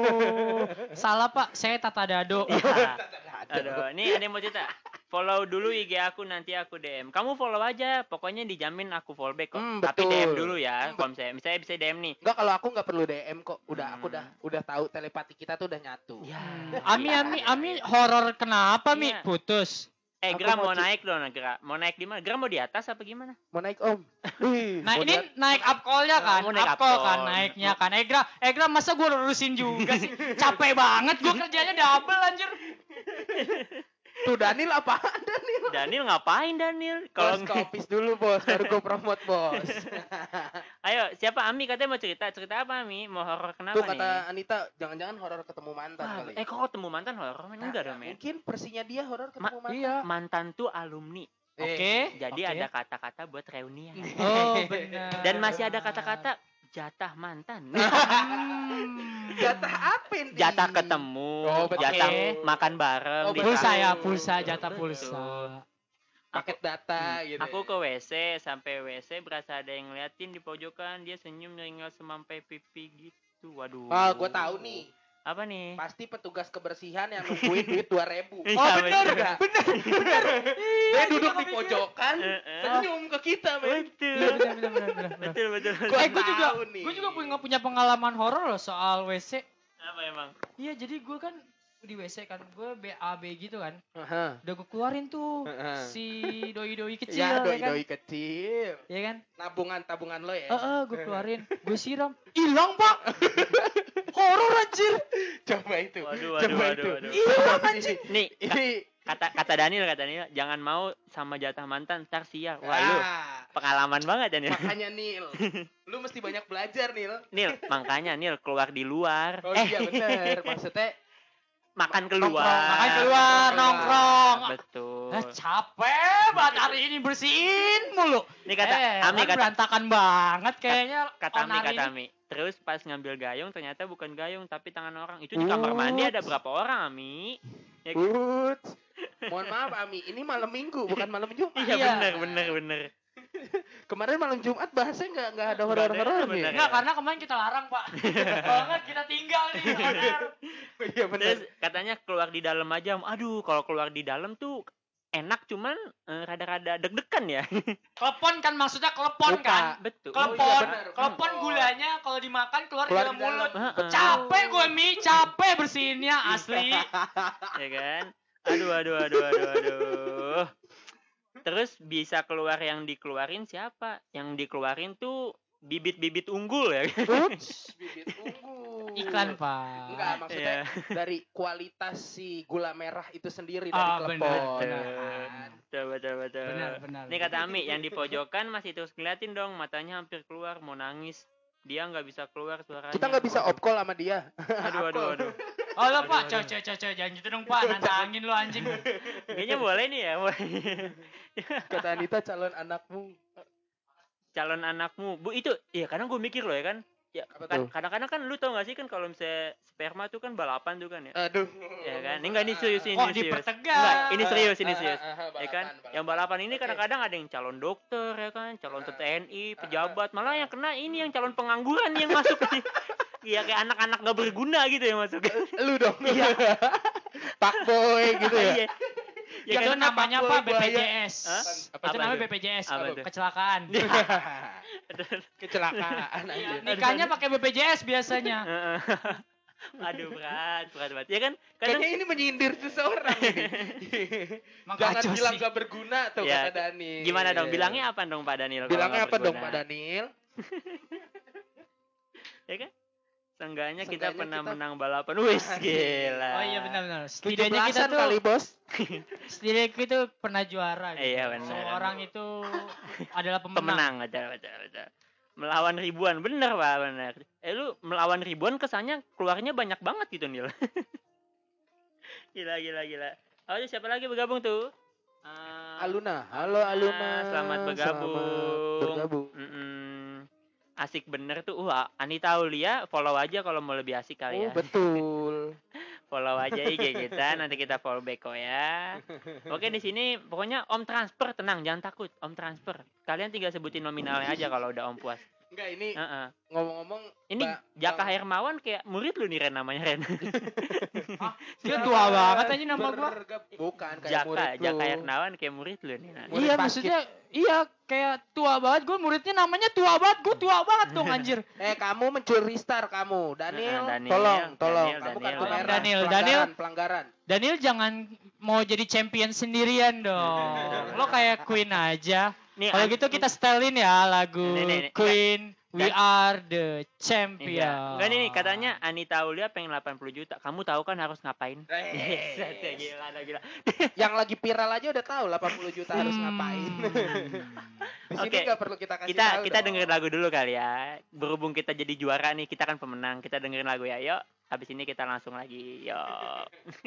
Salah, Pak. Saya Tata Dado. Iya. Aduh, ini ada yang mau cerita. Follow dulu I G aku nanti aku D M. Kamu follow aja, pokoknya dijamin aku follow back kok. Hmm, Tapi betul. D M dulu ya, Hmm, kalau misalnya, misalnya bisa D M nih. Enggak, kalau aku nggak perlu D M kok. Udah aku Hmm. udah udah tahu telepati kita tuh udah nyatu. Ya. Ami, Ami, Ami, horor kenapa, Mi? Iya. Putus. Eh, Aku Gra mau mau ci- naik dong, Gra. Mau naik di mana? Gra mau di atas apa gimana? Mau naik Om. Wih, Nah, mau ini lihat- naik up call-nya kan? Oh, naik Up up call call. kan naiknya kan. Egra, Egra masa gue lurusin juga sih? Capek banget gue kerjanya double anjir. tuh Daniel apaan Daniel? Daniel ngapain Daniel? Kalau Kalau ke office dulu bos, baru gue promote bos. ayo, siapa Ami katanya mau cerita? Cerita apa Ami? Mau horor kenapa Tuh nih? kata Anita, jangan-jangan horor ketemu mantan Wah, kali. eh kok ketemu mantan horor? Men? Enggak dong, men. Mungkin versinya dia horor ketemu Ma- mantan. Iya. Mantan tuh alumni. Eh, Oke. Jadi Oke. ada kata-kata buat reunian. Oh, benar. Dan masih ada kata-kata jatah mantan. Hmm. Jatah apa nih? Jatah ketemu, Oh, betul. jatah Oke. makan bareng. Oh, di Pulsa kafe. ya, pulsa, jatah Betul. pulsa. paket data gitu. Aku ya. ke W C, sampai W C berasa ada yang ngeliatin di pojokan, dia senyum nyeringal semampai pipi gitu. Waduh. Ah, gue tahu nih. Apa nih? Pasti petugas kebersihan yang nungguin duit dua ribu. Iya, Oh bener bener. gak? Bener, bener. Dia duduk di kepikiran. pojokan, Eh, eh. senyum ke kita, men. Betul. Bener, bener, bener, bener, bener. Betul, betul. Gua Eh, gue juga, tahu nih. gue juga punya punya pengalaman horor loh soal W C. Apa emang? Iya, jadi gue kan di W C kan, gue B A B gitu kan. Aha. Udah gue keluarin tuh Heeh. si doi-doi kecil, Ya, ya kan? doi-doi kecil. Ya kan? Nabungan-tabungan lo ya. Heeh, gue keluarin, gue siram, hilang pak. Horor anjir. Coba itu. Waduh, waduh, Coba waduh, itu. waduh. Hilang anjir. Nih, ka- Ini kata kata Daniel kata Daniel, jangan mau sama jatah mantan, ntar sial. Wah, lu ah, pengalaman banget ya Nil. makanya Nil. Lu mesti banyak belajar, Nil. Nil, makanya Nil keluar di luar. Oh eh, iya bener. Maksudnya makan Nongkrong, keluar. makan keluar, nongkrong. Betul. Lah capek banget hari ini bersihin mulu. Ini kata eh, Ami kan kata berantakan banget kayaknya. kata Ami on hari kata ini. Ami. Terus pas ngambil gayung ternyata bukan gayung tapi tangan orang. Itu di kamar mandi ada berapa orang, Ami? Ya, kan? Uts. Mohon maaf Ami, ini malam Minggu bukan malam Jumat. Iya Iya. bener bener bener. Kemarin malam Jumat bahasnya nggak nggak ada Nggak ada, horor-horornya. bener. Enggak, karena kemarin kita larang, Pak. Kalau enggak kita tinggal nih. Bener. Iya benar. Terus katanya keluar di dalam aja. Aduh, kalau keluar di dalam tuh enak cuman eh, rada-rada deg-degan ya. Kelepon kan maksudnya kelepon Lupa. kan? Betul. Kelepon, Oh, iya benar. kelepon Kelepon. gulanya kalau dimakan keluar, Keluar di dalam di dalam. mulut. Heeh. Capek gue Mi, capek bersihinnya asli. Ya kan? Aduh, aduh, aduh, aduh, aduh. Terus bisa keluar yang dikeluarin siapa? Yang dikeluarin tuh bibit-bibit unggul ya. Uts, bibit unggul. Iklan, Pak. Enggak, maksudnya Iya. dari kualitas si gula merah itu sendiri dari Ah, klepon. benar, Betul. kan? Betul, betul, betul. Benar, benar. Ini kata Ami, yang di pojokan masih terus ngeliatin dong, matanya hampir keluar, mau nangis. Dia nggak bisa keluar suaranya. Kita nggak bisa op call sama dia. Aduh, aduh, aduh. Oh lo Aduh, Pak, aduh. coy coy coy coy, jangan gitu dong Pak, nantangin lo anjing. Kayaknya boleh nih ya. boleh. Kata Anita calon anakmu. Calon anakmu. Bu, itu, ya kadang gue mikir loh ya kan. Ya, Apa kan, tuh? kadang-kadang kan lu tau gak sih kan kalau misalnya sperma tuh kan balapan tuh kan ya. Aduh. Ya kan? Ini enggak ini serius ini Kok serius. dipertegas? Enggak, ini serius, ini Ah, serius. ah, ah, Ya kan? balapan, Yang balapan. balapan ini Oke. kadang-kadang ada yang calon dokter ya kan, calon Ah. T N I, pejabat, malah yang kena ini yang calon pengangguran yang masuk. Iya kayak anak-anak gak berguna gitu yang masuk. Lu dong. Iya. Pak boy gitu ya. Iya. Ya Itu kan? namanya Pak Pak Boy B P J buaya. S. Hah? Apa Itu tuh? namanya B P J S, Apa tuh? kecelakaan. Kecelakaan Iya, aja. nikahnya pakai B P J S biasanya. Heeh. Aduh berat, berat banget. Ya kan? Kadang Kayaknya ini menyindir seseorang ini. Jangan Makacau bilang sih. gak berguna tuh Ya, kata Daniel. gimana dong? Bilangnya apa dong Pak Daniel? kalau Bilangnya nggak apa dong berguna? Pak Daniel? Ya kan? Seenggaknya kita Seenggaknya pernah kita- menang balapan. Wis, gila. Oh iya benar-benar. tujuh Setidaknya kita belasan tuh kali bos. setidaknya kita pernah juara gitu. Iya, benar. Semua orang itu adalah pemenang. Pemenang aja, betul, betul. Melawan ribuan, bener Pak, bener. Eh lu melawan ribuan kesannya keluarnya banyak banget gitu Nil. Gila, gila, gila. Oh, itu siapa lagi bergabung tuh? Ah, Aluna, halo Aluna. Selamat bergabung. Selamat bergabung. Mm-mm. Asik bener tuh. Wah, Anita Aulia follow aja kalau mau lebih asik kali Oh ya. betul. Follow aja I G kita, nanti kita follow back kok ya. Oke, di sini pokoknya Om transfer, tenang, jangan takut. Om transfer. Kalian tinggal sebutin nominalnya aja kalau udah Om puas. Enggak ini Heeh. ngomong-ngomong. Ini Mbak- Jaka Bang- Hermawan kayak murid lu nih Ren namanya Ren. Dia tua banget aja nama gua. Bergab- Bukan kayak Jaka, murid lu. Jaka Hermawan kayak murid lu nih. Nah. Murid Iya basket. maksudnya iya kayak tua banget. Gue muridnya namanya tua banget. Gue tua banget dong anjir. Eh kamu mencuri star kamu, Daniel. Nah, Daniel, tolong, tolong. Daniel, kamu Daniel, kartu Daniel. merah. Daniel, pelanggaran, Daniel. pelanggaran. Daniel jangan mau jadi champion sendirian dong. Lo kayak Queen aja. Nih, Kalau an- gitu kita setelin ya lagu Nih, nih, nih. Queen We Dan- Are the Enggak, Champion. enggak nih katanya Anita Aulia pengen delapan puluh juta. Kamu tahu kan harus ngapain? Eh, Set, ya, gila, ada gila. Yang lagi viral aja udah tahu delapan puluh juta harus Hmm. ngapain. Di sini Oke. nggak perlu kita kasih Kita tahu kita dong. dengerin lagu dulu kali ya. Berhubung kita jadi juara nih, kita kan pemenang. Kita dengerin lagu ya. Yuk. Habis ini kita langsung lagi. Yuk.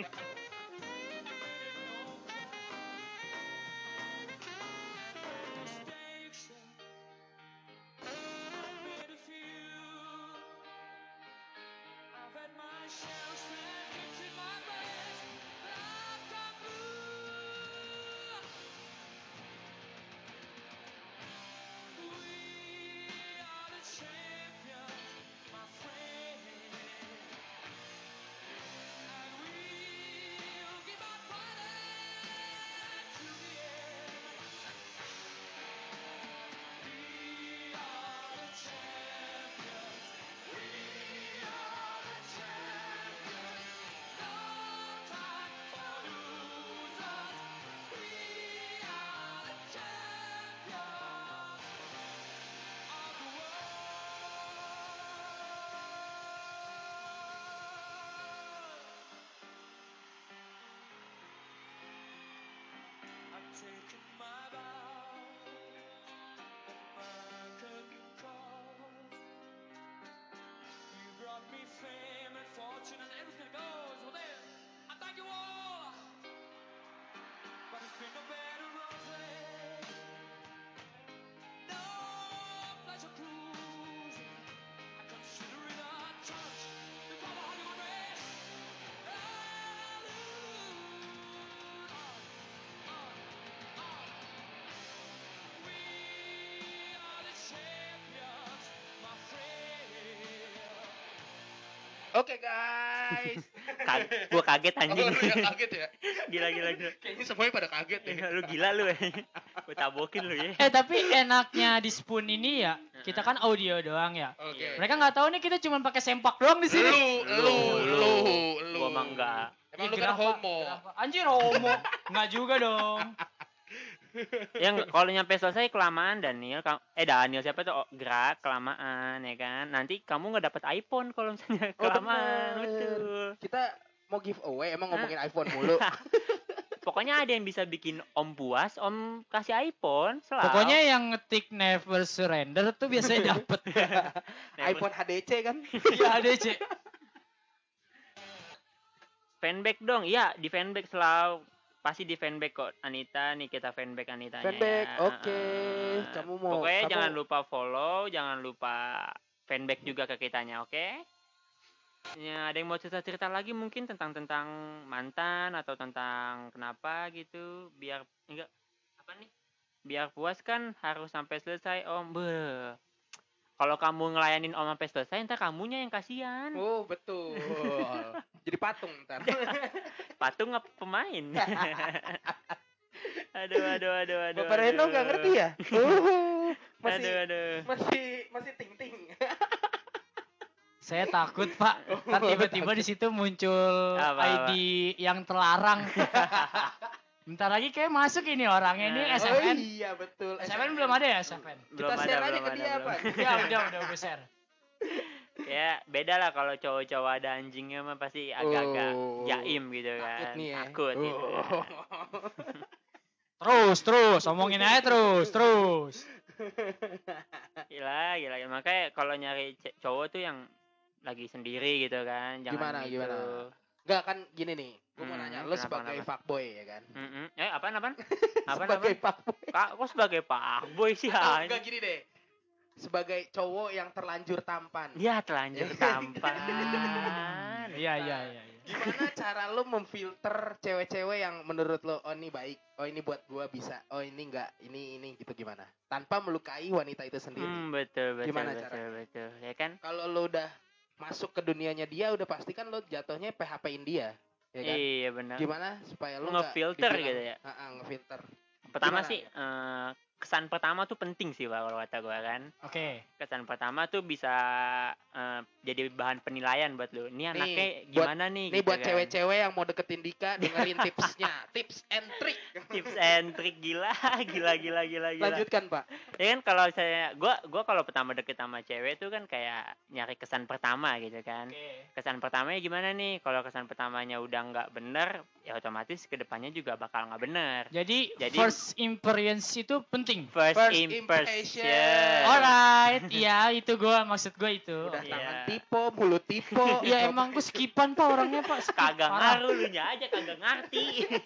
I've had my share of seconds in my race, but I've got blue. We are the champions, my friend, and we'll keep on fighting to the end. We are the champions. We are the champions. No time for losers. We are the champions of the world. I've taken my vow that man couldn't cause. You brought me fame and fortune and everything that goes with it. I thank you all. But it's been a Oke guys. Kag- gua kaget anjing. Oh, lu yang kaget ya? Gila gila gila. Kayaknya semuanya pada kaget deh. Lu gila lu. Gua tabokin lu ya. Eh tapi enaknya di Spoon ini ya, kita kan audio doang ya. Oke. Mereka nggak tahu nih kita cuma pakai sempak doang di sini. Lu, lu, lu, lu. Gua mah enggak. Emang Ih, lu kan kenapa? homo. Kenapa? Anjir homo. Enggak juga dong. Yang kalau nyampe selesai kelamaan Daniel, ka- eh Daniel siapa tuh? Oh, gerak kelamaan ya kan. Nanti kamu nggak dapet iPhone kalau misalnya Oh, kelamaan. bener. Betul. Kita mau giveaway emang ngomongin iPhone mulu. Pokoknya ada yang bisa bikin Om puas, Om kasih iPhone selalu. Pokoknya yang ngetik never surrender tuh biasanya dapet. iPhone H D C kan? Iya ada C. Fanback dong. Iya, di fanback selalu pasti di fanback kok Anita nih, kita fanback Anitanya. Fanback, ya. oke. Heeh. Kamu mau- Pokoknya kamu- jangan lupa follow, jangan lupa fanback juga ke kitanya, oke? Ya, ada yang mau cerita-cerita lagi mungkin tentang tentang mantan atau tentang kenapa gitu, biar enggak apa nih? Biar puas kan harus sampai selesai, Om. Beuh. Kalau kamu ngelayanin Om sampai selesai, ntar kamunya yang kasihan. Oh, betul. Jadi patung ntar. Patung apa pemain? aduh, aduh, aduh, aduh. Bapak Reno nggak ngerti ya? Oh, masih Aduh, aduh. masih masih ting ting. Saya takut Pak. Ntar tiba-tiba di situ muncul Apa, apa? I D yang terlarang. Bentar lagi kayak masuk ini orangnya ini Nah. S Oh F N. iya betul. S F N belum ada ya S F N? Kita Belum share ada, aja belum ke ada, dia belum. apa? Ya udah udah gue share. Ya beda lah kalau cowok-cowok ada anjingnya mah pasti agak-agak Oh. jaim gitu kan. Takut nih ya. Takut gitu. Oh. Terus terus omongin aja terus terus. Gila, gila. Makanya kalau nyari ce- cowok tuh yang lagi sendiri gitu kan. Jangan Gimana, gitu. gimana? Enggak kan gini nih. Gue mau Hmm, nanya lu kenapa, sebagai kenapa? fuckboy ya kan? Mm-mm. Eh, apaan, apaan? Apaan, sebagai apaan? fuckboy. Kak, kok sebagai pak boy sih? Atau anjing? enggak gini deh. Sebagai cowok yang terlanjur tampan. Ya, telanjur tampan. Iya iya iya. iya. Gimana cara lu memfilter cewek-cewek yang menurut lo oh ini baik, oh ini buat gua bisa, oh ini enggak, ini ini gitu gimana? Tanpa melukai wanita itu sendiri. Hmm, betul, betul, Gimana betul, caranya? betul. Ya kan? Kalau lo udah masuk ke dunianya dia udah pasti kan lo jatuhnya P H P-in dia, ya kan? Iya, benar. Gimana supaya lo nggak Ngefilter dibilang- gitu ya? Heeh, ngefilter. Pertama Gimana? sih eh, kesan pertama tuh penting sih Pak, kalau kata gue kan. Oke. Kesan pertama tuh bisa eh, jadi bahan penilaian buat lu. Ini anaknya buat- gimana nih? Nih gitu buat kan. cewek-cewek yang mau deketin Dika dengerin tipsnya, tips and trick. Tips and trick gila, gila, gila, gila, gila. Lanjutkan Pak. Ya kan kalau saya, gua, gua kalau pertama deket sama cewek tuh kan kayak nyari kesan pertama gitu kan. Oke. Kesan pertamanya gimana nih? Kalau kesan pertamanya udah nggak bener, ya otomatis kedepannya juga bakal nggak bener. Jadi, Jadi- first experience itu penting. First, First impression. impression. Alright, iya itu gua maksud gua itu. Udah Iya. tangan tipe, mulut tipe. Ya emang gua skipan Pak orangnya Pak. Skip, Kagak parah. ngaruh, lu nya aja kagak ngerti.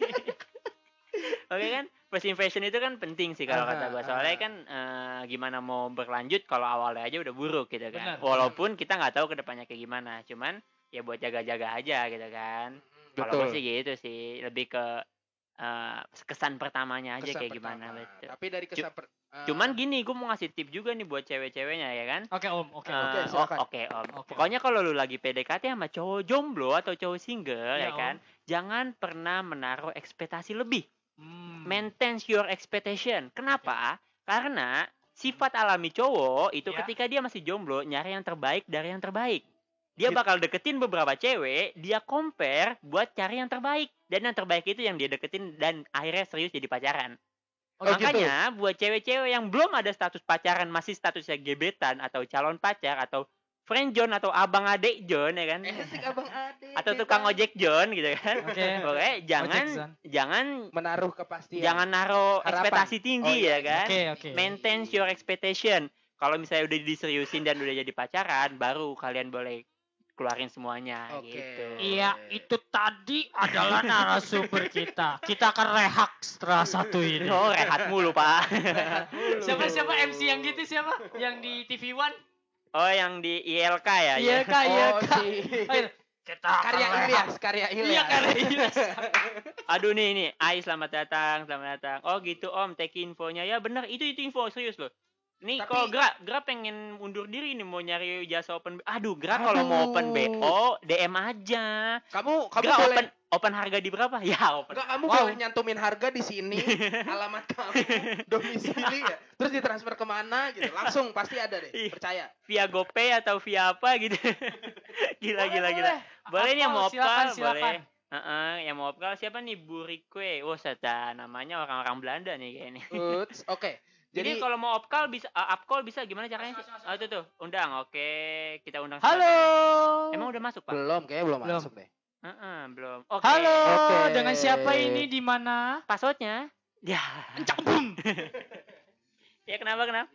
Oke kan, first impression itu kan penting sih kalau kata Aha, gua. Soalnya aha. kan eh, gimana mau berlanjut kalau awalnya aja udah buruk gitu kan. Benar, Walaupun kita nggak tahu kedepannya kayak gimana. Cuman ya buat jaga-jaga aja gitu kan. Kalau gua sih gitu sih, lebih ke eh, kesan pertamanya aja Kesan kayak gimana pertama. betul. Tapi dari kesan per, eh, Cuman gini, gua mau ngasih tip juga nih buat cewek-ceweknya ya kan. Oke Om, oke. Eh, oke, oh, silakan. Oke Om. Oke, Pokoknya kalau lu lagi P D K T sama cowok jomblo atau cowok single Iya, ya kan, jangan pernah menaruh ekspektasi lebih. Hmm. Maintain your expectation. Kenapa? Karena sifat alami cowok itu Ya. ketika dia masih jomblo nyari yang terbaik dari yang terbaik. Dia Gitu. bakal deketin beberapa cewek, dia compare buat cari yang terbaik. Dan yang terbaik itu yang dia deketin dan akhirnya serius jadi pacaran. Oh, gitu. Makanya buat cewek-cewek yang belum ada status pacaran, masih statusnya gebetan atau calon pacar atau friend John atau abang adik John ya kan, Esik abang ade. atau tukang ojek John gitu kan. Oke. Pokoknya jangan Ojek, Zan. jangan menaruh kepastian. jangan naruh Harapan. ekspektasi tinggi Oh, iya, ya kan. Oke, oke. Maintain your expectation. Kalau misalnya udah diseriusin dan udah jadi pacaran, baru kalian boleh keluarin semuanya Oke. gitu. Iya, itu tadi adalah narasumber kita. Kita akan rehak setelah satu ini. Oh, rehat mulu, Pak. Siapa siapa M C yang gitu siapa? Yang di T V One? Oh, yang di I L K ya? Iya ya? kak, iya Oh, kak. si- Ayo, kita akan karya rehak. Ilyas, karya Ilyas. Iya karya Ilyas. Aduh nih nih, Ai selamat datang, selamat datang. Oh gitu Om, take infonya. Ya bener, itu itu info serius loh. Nih Tapi- kalau Gra, Gra pengen mundur diri nih mau nyari jasa open. Aduh, Gra kalau mau Aduh. open B O D M aja. Kamu kamu Gra boleh open open harga di berapa? Ya, open. Enggak, kamu Wow. boleh nyantumin harga di sini, alamat kamu, domisili ya, terus ditransfer kemana gitu, langsung pasti ada deh, Iya. percaya. Via GoPay atau via apa gitu. Gila gila gila. Boleh nih yang mau Silakan, opkal, silakan. boleh. Heeh, yang mau opkal siapa nih? Burikwe. Oh, seta namanya orang-orang Belanda nih kayaknya. Uts, oke. Jadi, Jadi kalau mau opkal bisa uh, upcall bisa gimana caranya sih? Masuk, masuk, Oh, itu tuh, undang. Oke, kita undang Halo. siapa? Emang udah masuk, Pak? belum, kayaknya belum, Belum. masuk deh. Heeh, belum. Oke. Halo. Oke. Dengan siapa ini di mana? Passwordnya? Ya. Encakbum. Ya kenapa kenapa?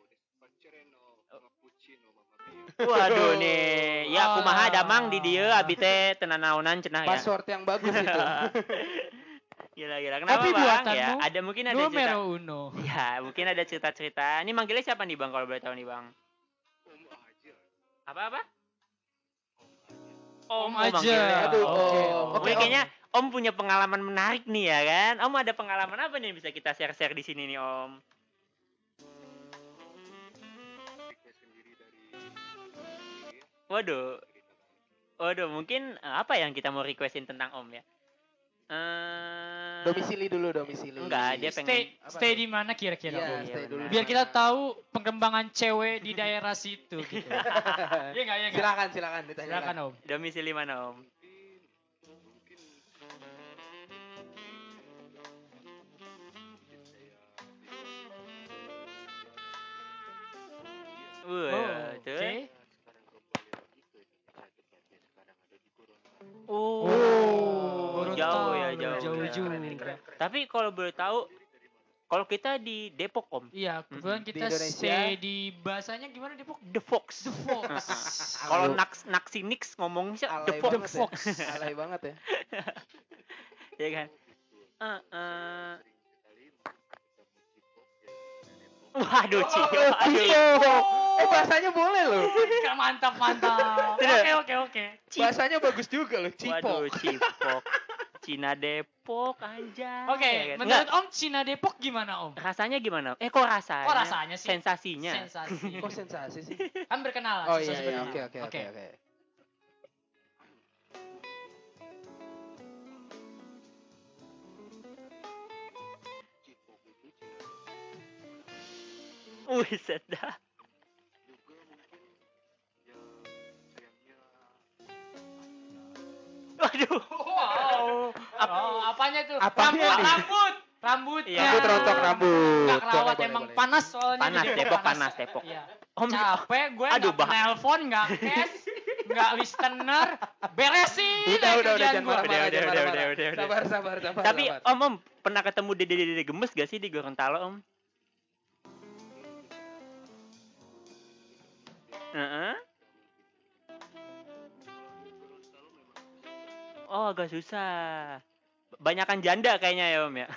Waduh nih, ya Ah. kumaha damang di dieu abi teh tenan naonan cenah ya. Password yang bagus itu. Gila gila. Kenapa Kopi Bang? buatanmu Ya, ada mungkin ada cerita. Numero uno. Ya, mungkin ada cerita-cerita. Ini manggilnya siapa nih Bang kalau boleh tahu nih Bang? Apa apa? Om, Om oh, aja. manggilnya. Aduh, Oke. Om. Oke, Wih, Om. kayaknya Om punya pengalaman menarik nih ya kan? Om ada pengalaman apa nih yang bisa kita share-share di sini nih Om? Waduh. Waduh, mungkin eh, apa yang kita mau requestin tentang Om ya? Eh Domisili dulu, domisili. Enggak, dia pengen Stay Apa stay tuh? di mana kira-kira? Iya, Om? Iya, stay dulu. benar. Biar kita tahu pengembangan cewek di daerah situ gitu. Iya enggak, iya enggak? Silakan, silakan ditanyakan. Silakan, Om. domisili mana Om? Wah, Oh, tuh. oke. Oh, Baru jauh tahu, ya, jauh. Jauh ya. juga. Tapi kalau boleh tahu, kalau kita di Depok Om, Iya, kebetulan Di kita Indonesia. stay di bahasanya gimana Depok? The Fox. The Fox. Kalau Aduh. Naks Naksi Nix ngomongnya The Alay Fox. banget Fox. ya. Alay banget ya. Ya kan? Eh, eh. Waduh, Cio. Aduh. Eh bahasanya boleh loh. Enggak, mantap, mantap. Tidak. Oke, oke, oke. Bahasanya bagus juga loh, Waduh, Cipok. Cipok. Cina Depok aja. Oke, Ya kan? menurut Enggak, Om Cina Depok gimana Om? rasanya gimana? Eh, kok rasanya? Kok rasanya sih? Sensasinya. Sensasi. Kok sensasi sih? Kan berkenalan. Oh sensasi iya, iya, berkenalan. oke, oke, oke, oke. Wih, sedap. Waduh. Wow. Oh, apanya tuh? Apanya rambut, nih? rambut. Rambutnya. Iya. Rambut rontok rambut. Enggak kerawat, Boleh, emang boleh. panas soalnya. Panas, jadi Depok panas, Depok. Iya. Om, Capek gue Aduh, nggak bah- nelpon, nggak cash, nggak listener, beresin Udah, aja udah, udah, kerjaan jangan gua. marah-marah, Udah, jangan udah, marah-marah. udah, udah, udah. Sabar, sabar, sabar. tapi sabar. Om, Om pernah ketemu dede-dede gemes gak sih di Gorontalo Om? Heeh. Oh, agak susah. Banyakan janda kayaknya ya Om ya.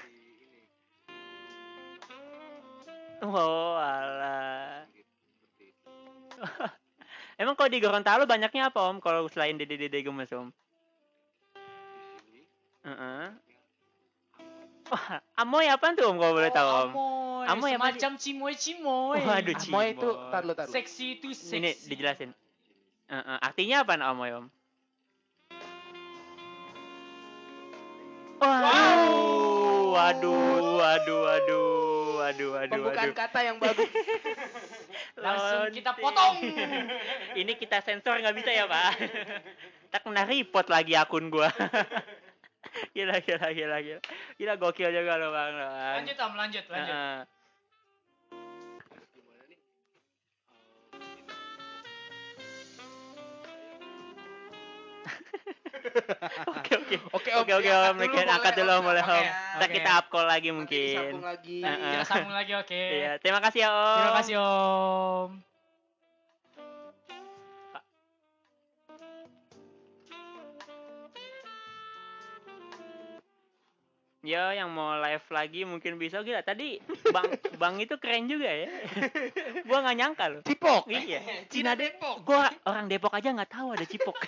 Oh, alah. Emang kalau di Gorontalo banyaknya apa Om? Kalau selain dede-dede gemes Om? Heeh. Wah, amoy apaan tuh Om kalau boleh tahu Om? Amoy, Amoy apa sih? semacam cimoy-cimoy. Waduh, Ah, Moy itu, Cimoy. tar lu, tar lu. Seksi itu seksi. Ini dijelasin. Heeh, artinya apa amoy Om? Waduh, waduh, waduh, waduh, waduh, waduh, Pembukaan waduh. kata yang bagus. Langsung kita Lonte. potong. Ini kita sensor nggak bisa ya Pak? Tak kena report lagi akun gua. Gila, gila, gila, gila. Gila gokil juga lo Bang. Bang. Lanjut Om, lanjut, lanjut. Heeh. Oke, oke. Oke, Oke, oke, Om. Mungkin angkat dulu Om, boleh Om. Oke, Ntar oke. kita up call lagi Nanti mungkin. disambung lagi. Heeh. Kita sambung lagi, oke. Iya, terima kasih ya Om. Terima kasih Om. Ya, yang mau live lagi mungkin bisa gila. Tadi Bang Bang itu keren juga ya. Gua nggak nyangka loh. Cipok. Iya. Cina Depok. Gua orang Depok aja nggak tahu ada Cipok.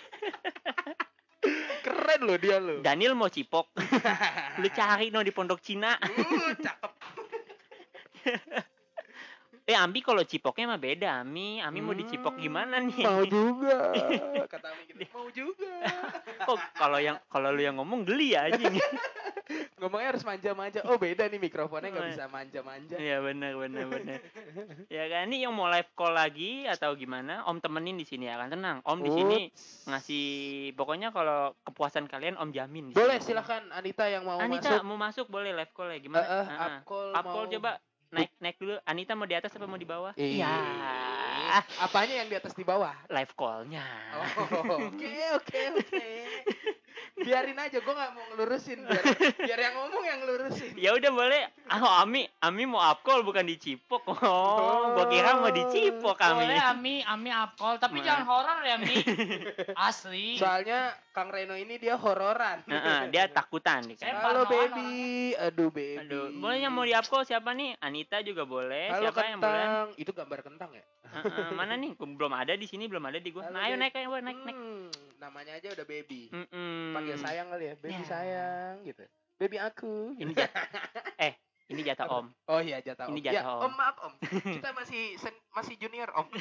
Keren loh dia loh. Daniel mau Cipok. Lu cari no di Pondok Cina. Uh, cakep. Eh Ami kalau cipoknya mah beda Ami. Ami mau dicipok gimana nih? Mau juga. Kata Ami gitu. Mau juga. Kok kalau yang kalau lu yang ngomong geli ya anjing. Ngomongnya harus manja-manja. Oh beda nih mikrofonnya nggak bisa manja-manja. Iya benar benar benar. Ya kan ini yang mau live call lagi atau gimana? Om temenin di sini ya kan tenang. Om di sini ngasih pokoknya kalau kepuasan kalian Om jamin. Di Boleh sini. silakan Anita yang mau Anita masuk. mau masuk boleh live call ya gimana? Uh, uh, Heeh. up call Up call mau- coba naik naik dulu. Anita mau di atas apa mau di bawah? Ih, Iya. Apanya yang di atas di bawah? Live callnya. Oh, oke oke oke. Biarin aja, gue nggak mau ngelurusin. Biar, biar yang ngomong yang ngelurusin. Ya udah boleh. Ah, Ami, Ami mau up call bukan dicipok. Oh, gua kira mau dicipok Ami. Boleh Ami, Ami upcall, tapi Ma- jangan horor ya Mi. Asli. Soalnya Kang Reno ini dia hororan. Heeh, dia takutan nih Saya kan. Halo parnoan baby, aduh baby. Aduh, boleh yang mau di up call siapa nih? Anita juga boleh. Halo Siapa yang boleh? kentang, itu gambar kentang ya? Heeh, mana nih? Gua belum ada di sini, belum ada di gua. Halo, Nah, ayo baby. naik ayo naik naik. Hmm, namanya aja udah baby. Mm-mm. Panggil sayang kali ya, baby Ya. sayang gitu. Baby aku. Ini Gitu. jat- eh, ini jatah Om. Oh iya jatah Ini om. jatah ya, om. om maaf om. Kita masih sen- masih junior om.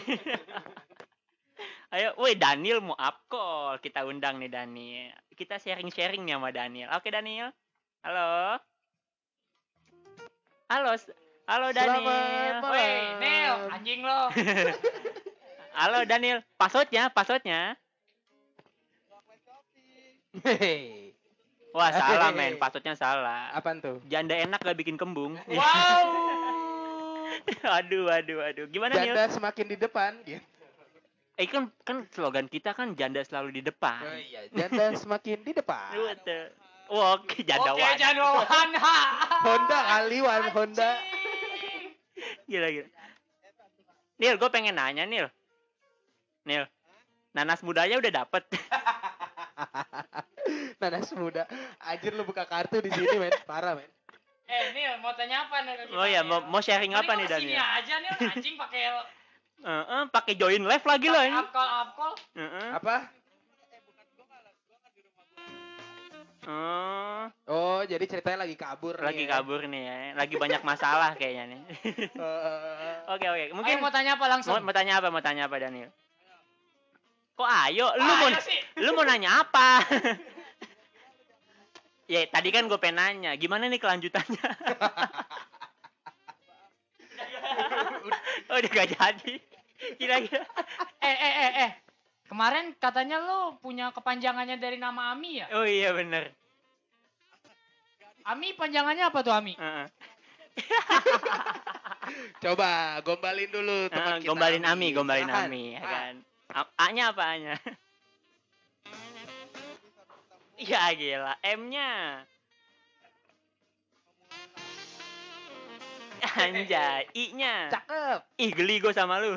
Ayo, woi Daniel mau up call. Kita undang nih Daniel. Kita sharing-sharing nih sama Daniel. Oke Daniel. Halo. Halo. s- Halo Daniel. Selamat malam. Woi, Nel, anjing lo. Halo Daniel. Passwordnya, passwordnya. Hehehe. Wah salah men, passwordnya salah. Apaan tuh? Janda enak gak bikin kembung. Wow. aduh, aduh, aduh. Gimana Nil? Janda semakin di depan gitu. Eh kan kan slogan kita kan janda selalu di depan. Oh iya, janda semakin di depan. Betul. Wah, oke janda Oke, wan. jangan wahana. Honda kali wan Honda. Gila gila. Nil, gue pengen nanya Nil. Nil, nanas mudanya udah dapet. Nanas muda. Anjir lu buka kartu di sini men, parah men. Eh, Nil, mau tanya apa nih ke kita? Oh iya, Nil? mau, mau sharing apa nih Mending lo kesini Daniel? aja Nil, anjing pakai Heeh, pakai join live lagi loh ini. upcall upcall. Heeh. Apa? Oh, Oh, jadi ceritanya lagi kabur lagi nih. ya. kabur nih ya. Lagi banyak masalah kayaknya nih. Eh, Oke oke, Mungkin mungkin mau tanya apa langsung? mau, mau tanya apa? Mau tanya apa Daniel? Kok ayo? Lu Ah, mau ayo sih. lu mau nanya apa? Ya tadi kan gue pengen nanya, gimana nih kelanjutannya? oh udah gak jadi. Kira-kira. Eh eh eh eh. Kemarin katanya lo punya kepanjangannya dari nama Ami ya? Oh iya bener. Ami panjangannya apa tuh Ami? Heeh. Coba gombalin dulu teman Heeh, kita. gombalin Ami, gombalin Silakan. Ami, ya Ah, kan. A- A-nya apa A-nya? Iya gila, M-nya. Anjay, I-nya. Cakep. Ih, geli gue sama lu.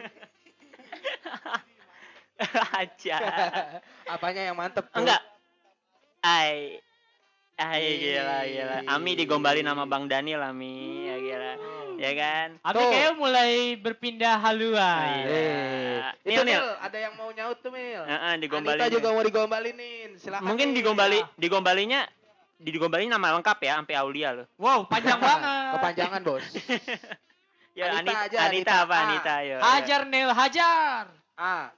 Aja. Apanya yang mantep tuh? Enggak. Ai. Ai gila gila. Ami digombalin sama Bang Daniel Ami, ya gila. Ya kan? Ami Tuh. kayaknya mulai berpindah haluan. Iya. Itu Nil, Nil. Mil, ada yang mau nyaut tuh Mil. Heeh, digombalin. Anita juga mau digombalinin. Silakan. Mungkin Mil. digombali digombalinya digombalin nama lengkap ya sampai Aulia loh. Wow, panjang banget. Kepanjangan, Bos. Ya Anita Anita, aja, Anita, Anita. apa Ah. Anita ayo. Hajar Nel, hajar. Ah.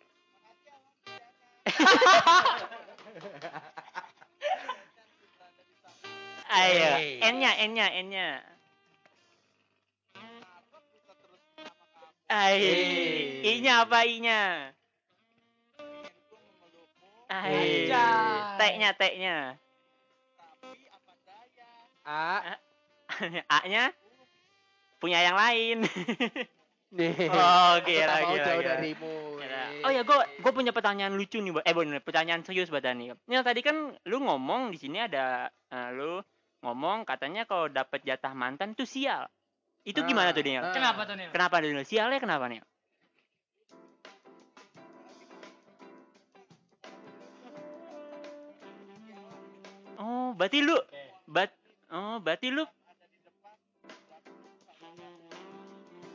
Ayo. Hey. N-nya, N-nya, N-nya. Ai. Hey. I-nya apa I-nya? Ai. Anjay. T-nya, T-nya. A. A-nya punya yang lain. Nih. Oh, Aku gila, tak mau gila, jauh gila. darimu. Gila. eh. Oh ya, gue gue punya pertanyaan lucu nih, Bo. eh bener, pertanyaan serius buat Dani. Ini tadi kan lu ngomong di sini ada eh, lu ngomong katanya kalau dapet jatah mantan tuh sial. Itu Ah, gimana tuh Daniel? ah. Kenapa tuh Nel? Kenapa Daniel? Sialnya kenapa nih? Oh, berarti lu bat oh, berarti lu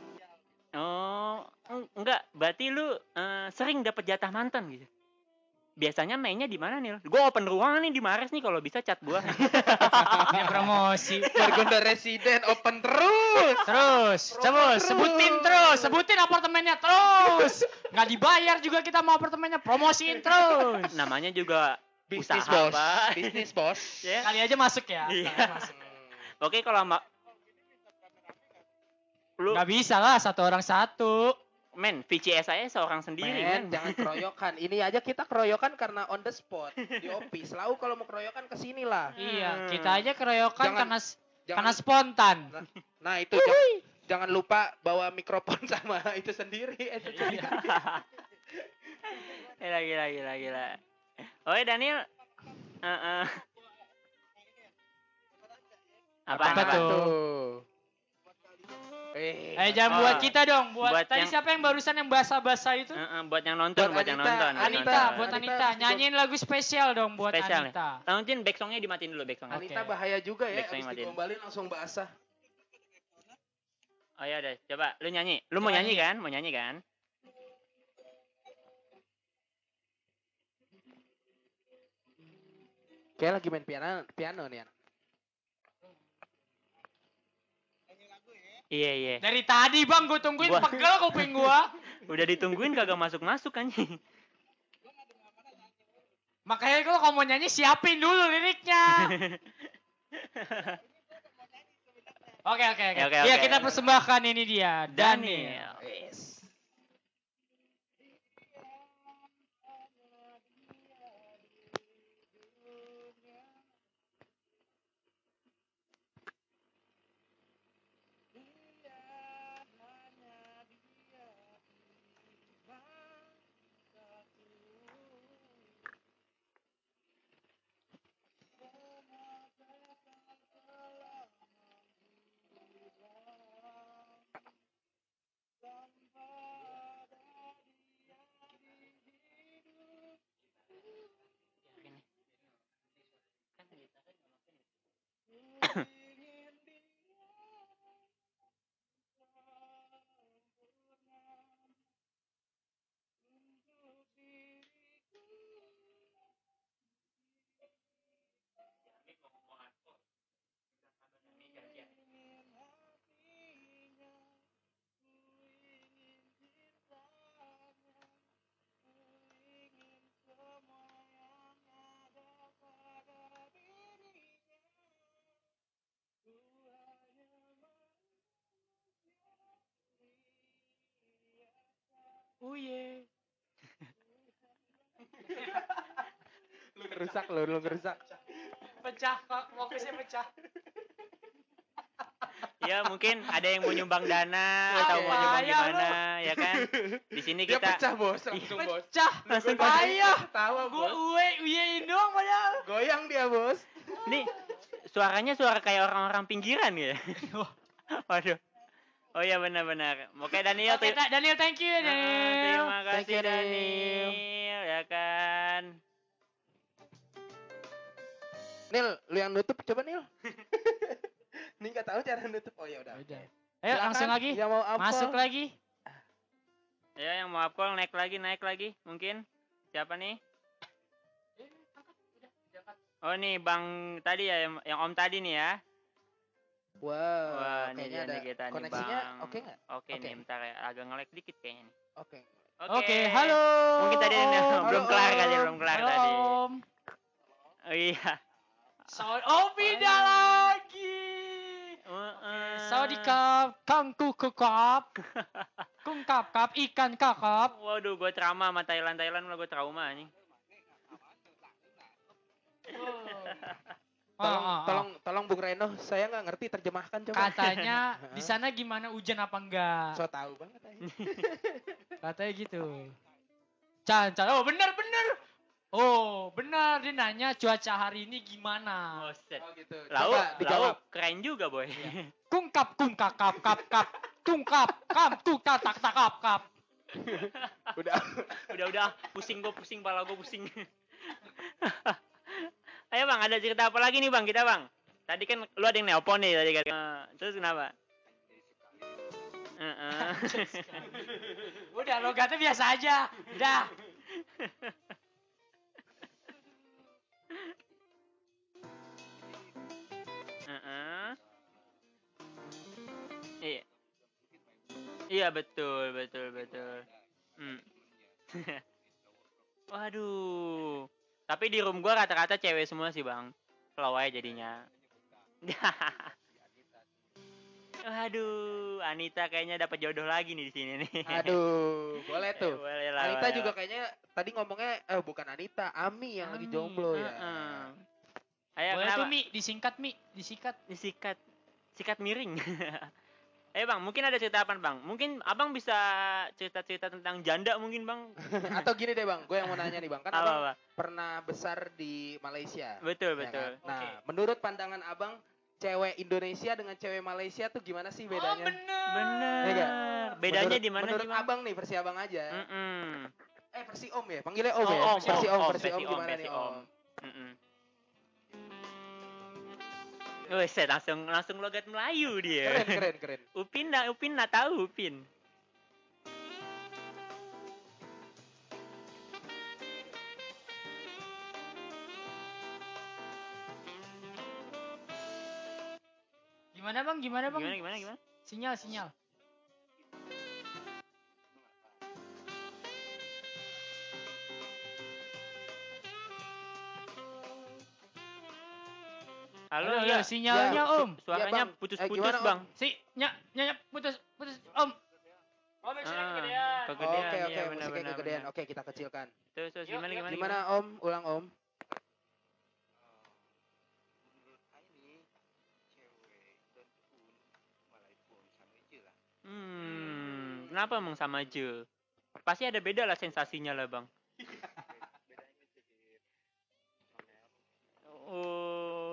Oh, eng- enggak, berarti lu eh, sering dapat jatah mantan gitu. biasanya mainnya di mana nih? Gue open ruangan nih di Mares nih, kalau bisa cat gua. Dia promosi. Margonda Residen open terus. Terus, coba terus. sebutin terus, sebutin apartemennya terus. Nggak dibayar juga kita mau apartemennya, promosiin terus. Namanya juga Bisnis usaha, bos. Pak. Bisnis bos. Ya. Kali aja masuk ya. Iya. Kali masuk. Oke, kalau ma- lu Nggak bisa lah, satu orang satu. men, V C S saya seorang sendiri, Men, men. jangan keroyokan. Ini aja kita keroyokan karena on the spot di office. Lalu kalau mau keroyokan ke sini lah. Iya, kita aja keroyokan Jangan- karena Jangan, karena spontan. nah, nah itu jangan, jangan lupa bawa mikrofon sama itu sendiri. Itu juga. Gila, gila, gila, gila. Oke, Daniel. Heeh. Apa, Apa apa? tuh? Eh, Eh jangan Oh. buat kita dong, buat, Buat tadi yang- siapa yang barusan yang basah-basah itu? Heeh, buat yang nonton, Buat buat, yang Anita, nonton, buat Anita, nonton. buat Anita Anita, habis nyanyiin lagu spesial dong buat Spesial nih. Anita. Lanjutin back songnya dimatiin dulu, back songnya. Anita Oke. bahaya juga ya. Back Habis matiin. digombalin langsung basah. Oh ya udah, coba lu nyanyi. Lu mau Coba nyanyi nyanyi. kan? Mau nyanyi kan? Kayak lagi main piano, piano nih. An. Iya, iya. Dari tadi bang, gue tungguin Gua- pegel kuping gua. Udah ditungguin kagak masuk-masuk anjing. Makanya kalau kamu mau nyanyi siapin dulu liriknya. Oke oke oke. Ya, oke, Iya oke. kita persembahkan ini dia Daniel. Daniel. Yes. Oh yeah. Lu ngerusak lu, lu ngerusak. Pecah kok, fokusnya pecah. Ya mungkin ada yang mau nyumbang dana atau mau Apa nyumbang ya, gimana, ya kan? Di sini Dia kita pecah bos, langsung bos. Pecah. Langsung Ayo. Tawa Gue bos. uwe uyein doang padahal. Goyang dia bos. nih suaranya suara kayak orang-orang pinggiran ya. Waduh. Oh iya benar-benar. Oke Daniel, Oke, ter- Ta- Daniel thank you ya Ah, Daniel. terima Thank kasih you, Daniel. Daniel, ya kan. Nil, lu yang nutup coba Nil. Nih nggak tahu cara nutup. Oh ya udah. Udah. Ayo Silakan, langsung lagi. Yang mau apa? Masuk lagi. Ya yang mau upcall naik lagi, naik lagi mungkin. Siapa nih? Oh nih Bang tadi ya, yang, yang Om tadi nih ya. Wow. Wah, ini kayaknya dia ada nih kita nih koneksinya. Bang. Oke nggak? Oke Oke. nih, bentar ya. Agak nge-lag dikit kayaknya nih. Oke. Oke, halo. Mungkin tadi Om. ada- belum Halo, kelar Om. kali, belum kelar Halo, tadi. Om. Oh iya. Saud oh beda lagi. Heeh. Saudi kap, kangku kekap, kung kap kap, ikan kakap. Waduh, gue trauma sama Thailand Thailand lah, gue trauma nih. Tolong, Oh, oh, oh. tolong, tolong Bung Reno, saya nggak ngerti terjemahkan coba. Katanya di sana gimana hujan apa enggak? So tahu banget aja. Katanya gitu. Can, can. Oh benar benar. Oh benar dia nanya cuaca hari ini gimana? Oh, set. Oh gitu. Lau, Coba dijawab. lau, keren juga boy. Kungkap kungkap kap kap kap. Tungkap kam tu tak tak tak kap kap. Udah. udah udah, pusing gue pusing, pala gue pusing. Ayo bang, ada cerita apa lagi nih bang kita bang? Tadi kan lu ada yang nelpon nih tadi kan. Eh, terus kenapa? Heeh. Udah logatnya biasa aja. Udah. Iya betul, betul, betul. Hmm. Waduh. Tapi di room gua rata-rata cewek semua sih, Bang. Slow aja jadinya. Waduh, Anita kayaknya dapat jodoh lagi nih di sini nih. Aduh, boleh Eh, tuh. boleh lah, Anita boleh juga lah. kayaknya tadi ngomongnya eh bukan Anita, Ami yang lagi Ami, jomblo ya. heeh. Ayo, Boleh kenapa? tuh Mi, disingkat Mi, disikat. Disikat, sikat miring. Eh bang, mungkin ada cerita apa bang? Mungkin abang bisa cerita-cerita tentang janda mungkin bang? Atau gini deh bang, gue yang mau nanya nih bang, kan Apa, abang apa? pernah besar di Malaysia. Betul, ya betul. kan? Nah, Oke. menurut pandangan abang, cewek Indonesia dengan cewek Malaysia tuh gimana sih Oh bedanya? bener. Bener. Iya nggak? Bedanya menurut, di mana menurut sih bang? abang nih, versi abang aja. Mm-mm. Eh versi om ya, panggilnya om Oh, ya. om, versi om, om, om, versi om versi om, gimana versi nih om. om? Mm-mm. Wih, saya langsung langsung logat Melayu dia. Keren, keren, keren. Upin nak, Upin nak tahu Upin. Gimana bang, gimana bang? Gimana, gimana, gimana? Sinyal, sinyal. Halo, Halo, ya. halo, sinyalnya Ya, om. Suaranya Ya, Bang. putus-putus Eh, gimana, Om? bang. Si, nyak, nyak, putus, putus, om. Om, Ah, sudah kegedean. kegedean, Oke, iya, oke, benar, musiknya benar, kegedean. benar. Oke, kita kecilkan. Terus, terus Yuk, gimana, yuk. gimana, Gimana gimana? om? Ulang om. Hmm, kenapa emang sama aja? Pasti ada beda lah sensasinya lah bang. Oh,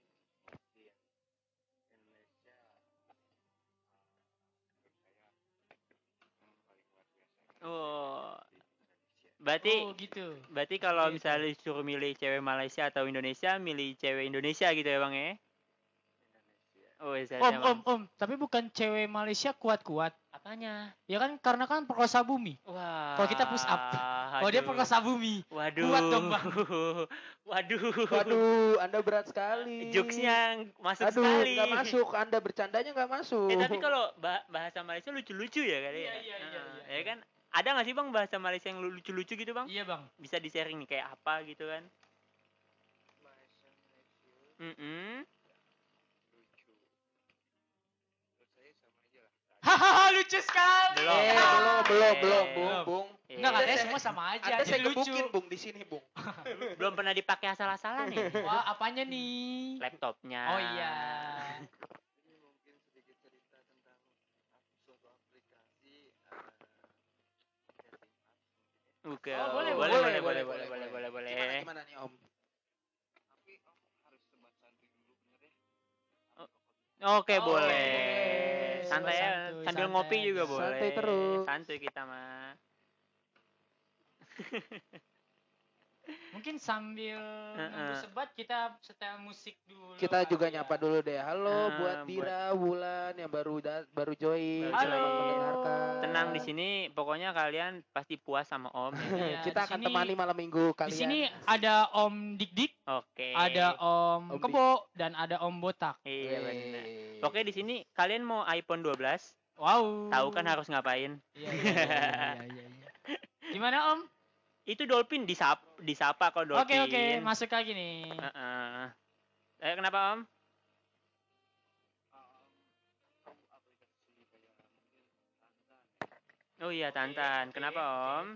oh, berarti, Oh gitu. berarti kalau Oke, oke. misalnya disuruh milih cewek Malaysia atau Indonesia, milih cewek Indonesia gitu ya bang ya? Oh, saya Om, om, om. Tapi bukan cewek Malaysia kuat-kuat. Apanya? Ya kan karena kan perkosa bumi. Wah. Kalau kita push up. Kalau dia aduh. perkosa bumi. Waduh. Kuat dong, Bang. Waduh. Waduh, Anda berat sekali. Jokesnya masuk Aduh, sekali. nggak masuk. Anda bercandanya nggak masuk. Eh tapi kalau bah- bahasa Malaysia lucu-lucu ya kali Iya, ya? iya, iya, Nah, iya. ya kan? Ada nggak sih bang bahasa Malaysia yang lu- lucu-lucu gitu bang? Iya bang. Bisa di-sharing nih kayak apa gitu kan? Mm-mm. Hahaha lucu sekali. Belum. Eh, belum. belum, belum, Eh, belum, Bung, belum. Bung. eh, Enggak, katanya saya- semua sama aja. Anda Jadi saya lucu. gebukin, Bung, di sini, Bung. belum pernah dipakai asal-asalan nih. Wah, apanya nih? Laptopnya. Oh iya. Oke. Oh, boleh, boleh, boleh, boleh, boleh, boleh, boleh, boleh, boleh, Gimana, boleh. gimana nih, Om? Oke, Oh, boleh. boleh. Santai ya, Santuy, sambil santai ngopi juga aja. boleh. Santai terus. Santuy kita mah. Mungkin sambil nunggu Heeh. sebat kita setel musik dulu. Kita kali juga ya. nyapa dulu deh. Halo Ah, buat buat- Dira, Wulan yang baru da- baru join, Baru selamat join. mendengarkan. Tenang di sini, pokoknya kalian pasti puas sama Om. Ya. Iya, Kita di akan sini- temani malam minggu kalian. Di sini ada Om Dik Dik, Oke. ada Om, Om Kebo, dan ada Om Botak. Iya Weh. benar. Pokoknya di sini kalian mau iPhone dua belas, Wow. tahu kan harus ngapain? Iya, iya, iya, iya, iya, iya. Gimana Om? Itu Dolphin disapa, disapa kok Oke, Dolphin. oke, masuk lagi nih. Heeh. Eh kenapa Om? Oh iya Tantan. Kenapa Om?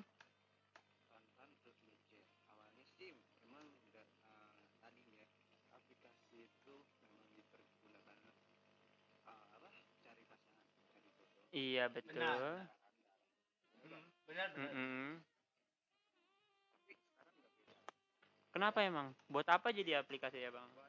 Iya betul. Benar. Benar, benar. Mm-mm. Kenapa emang? Buat apa jadi aplikasi ya bang?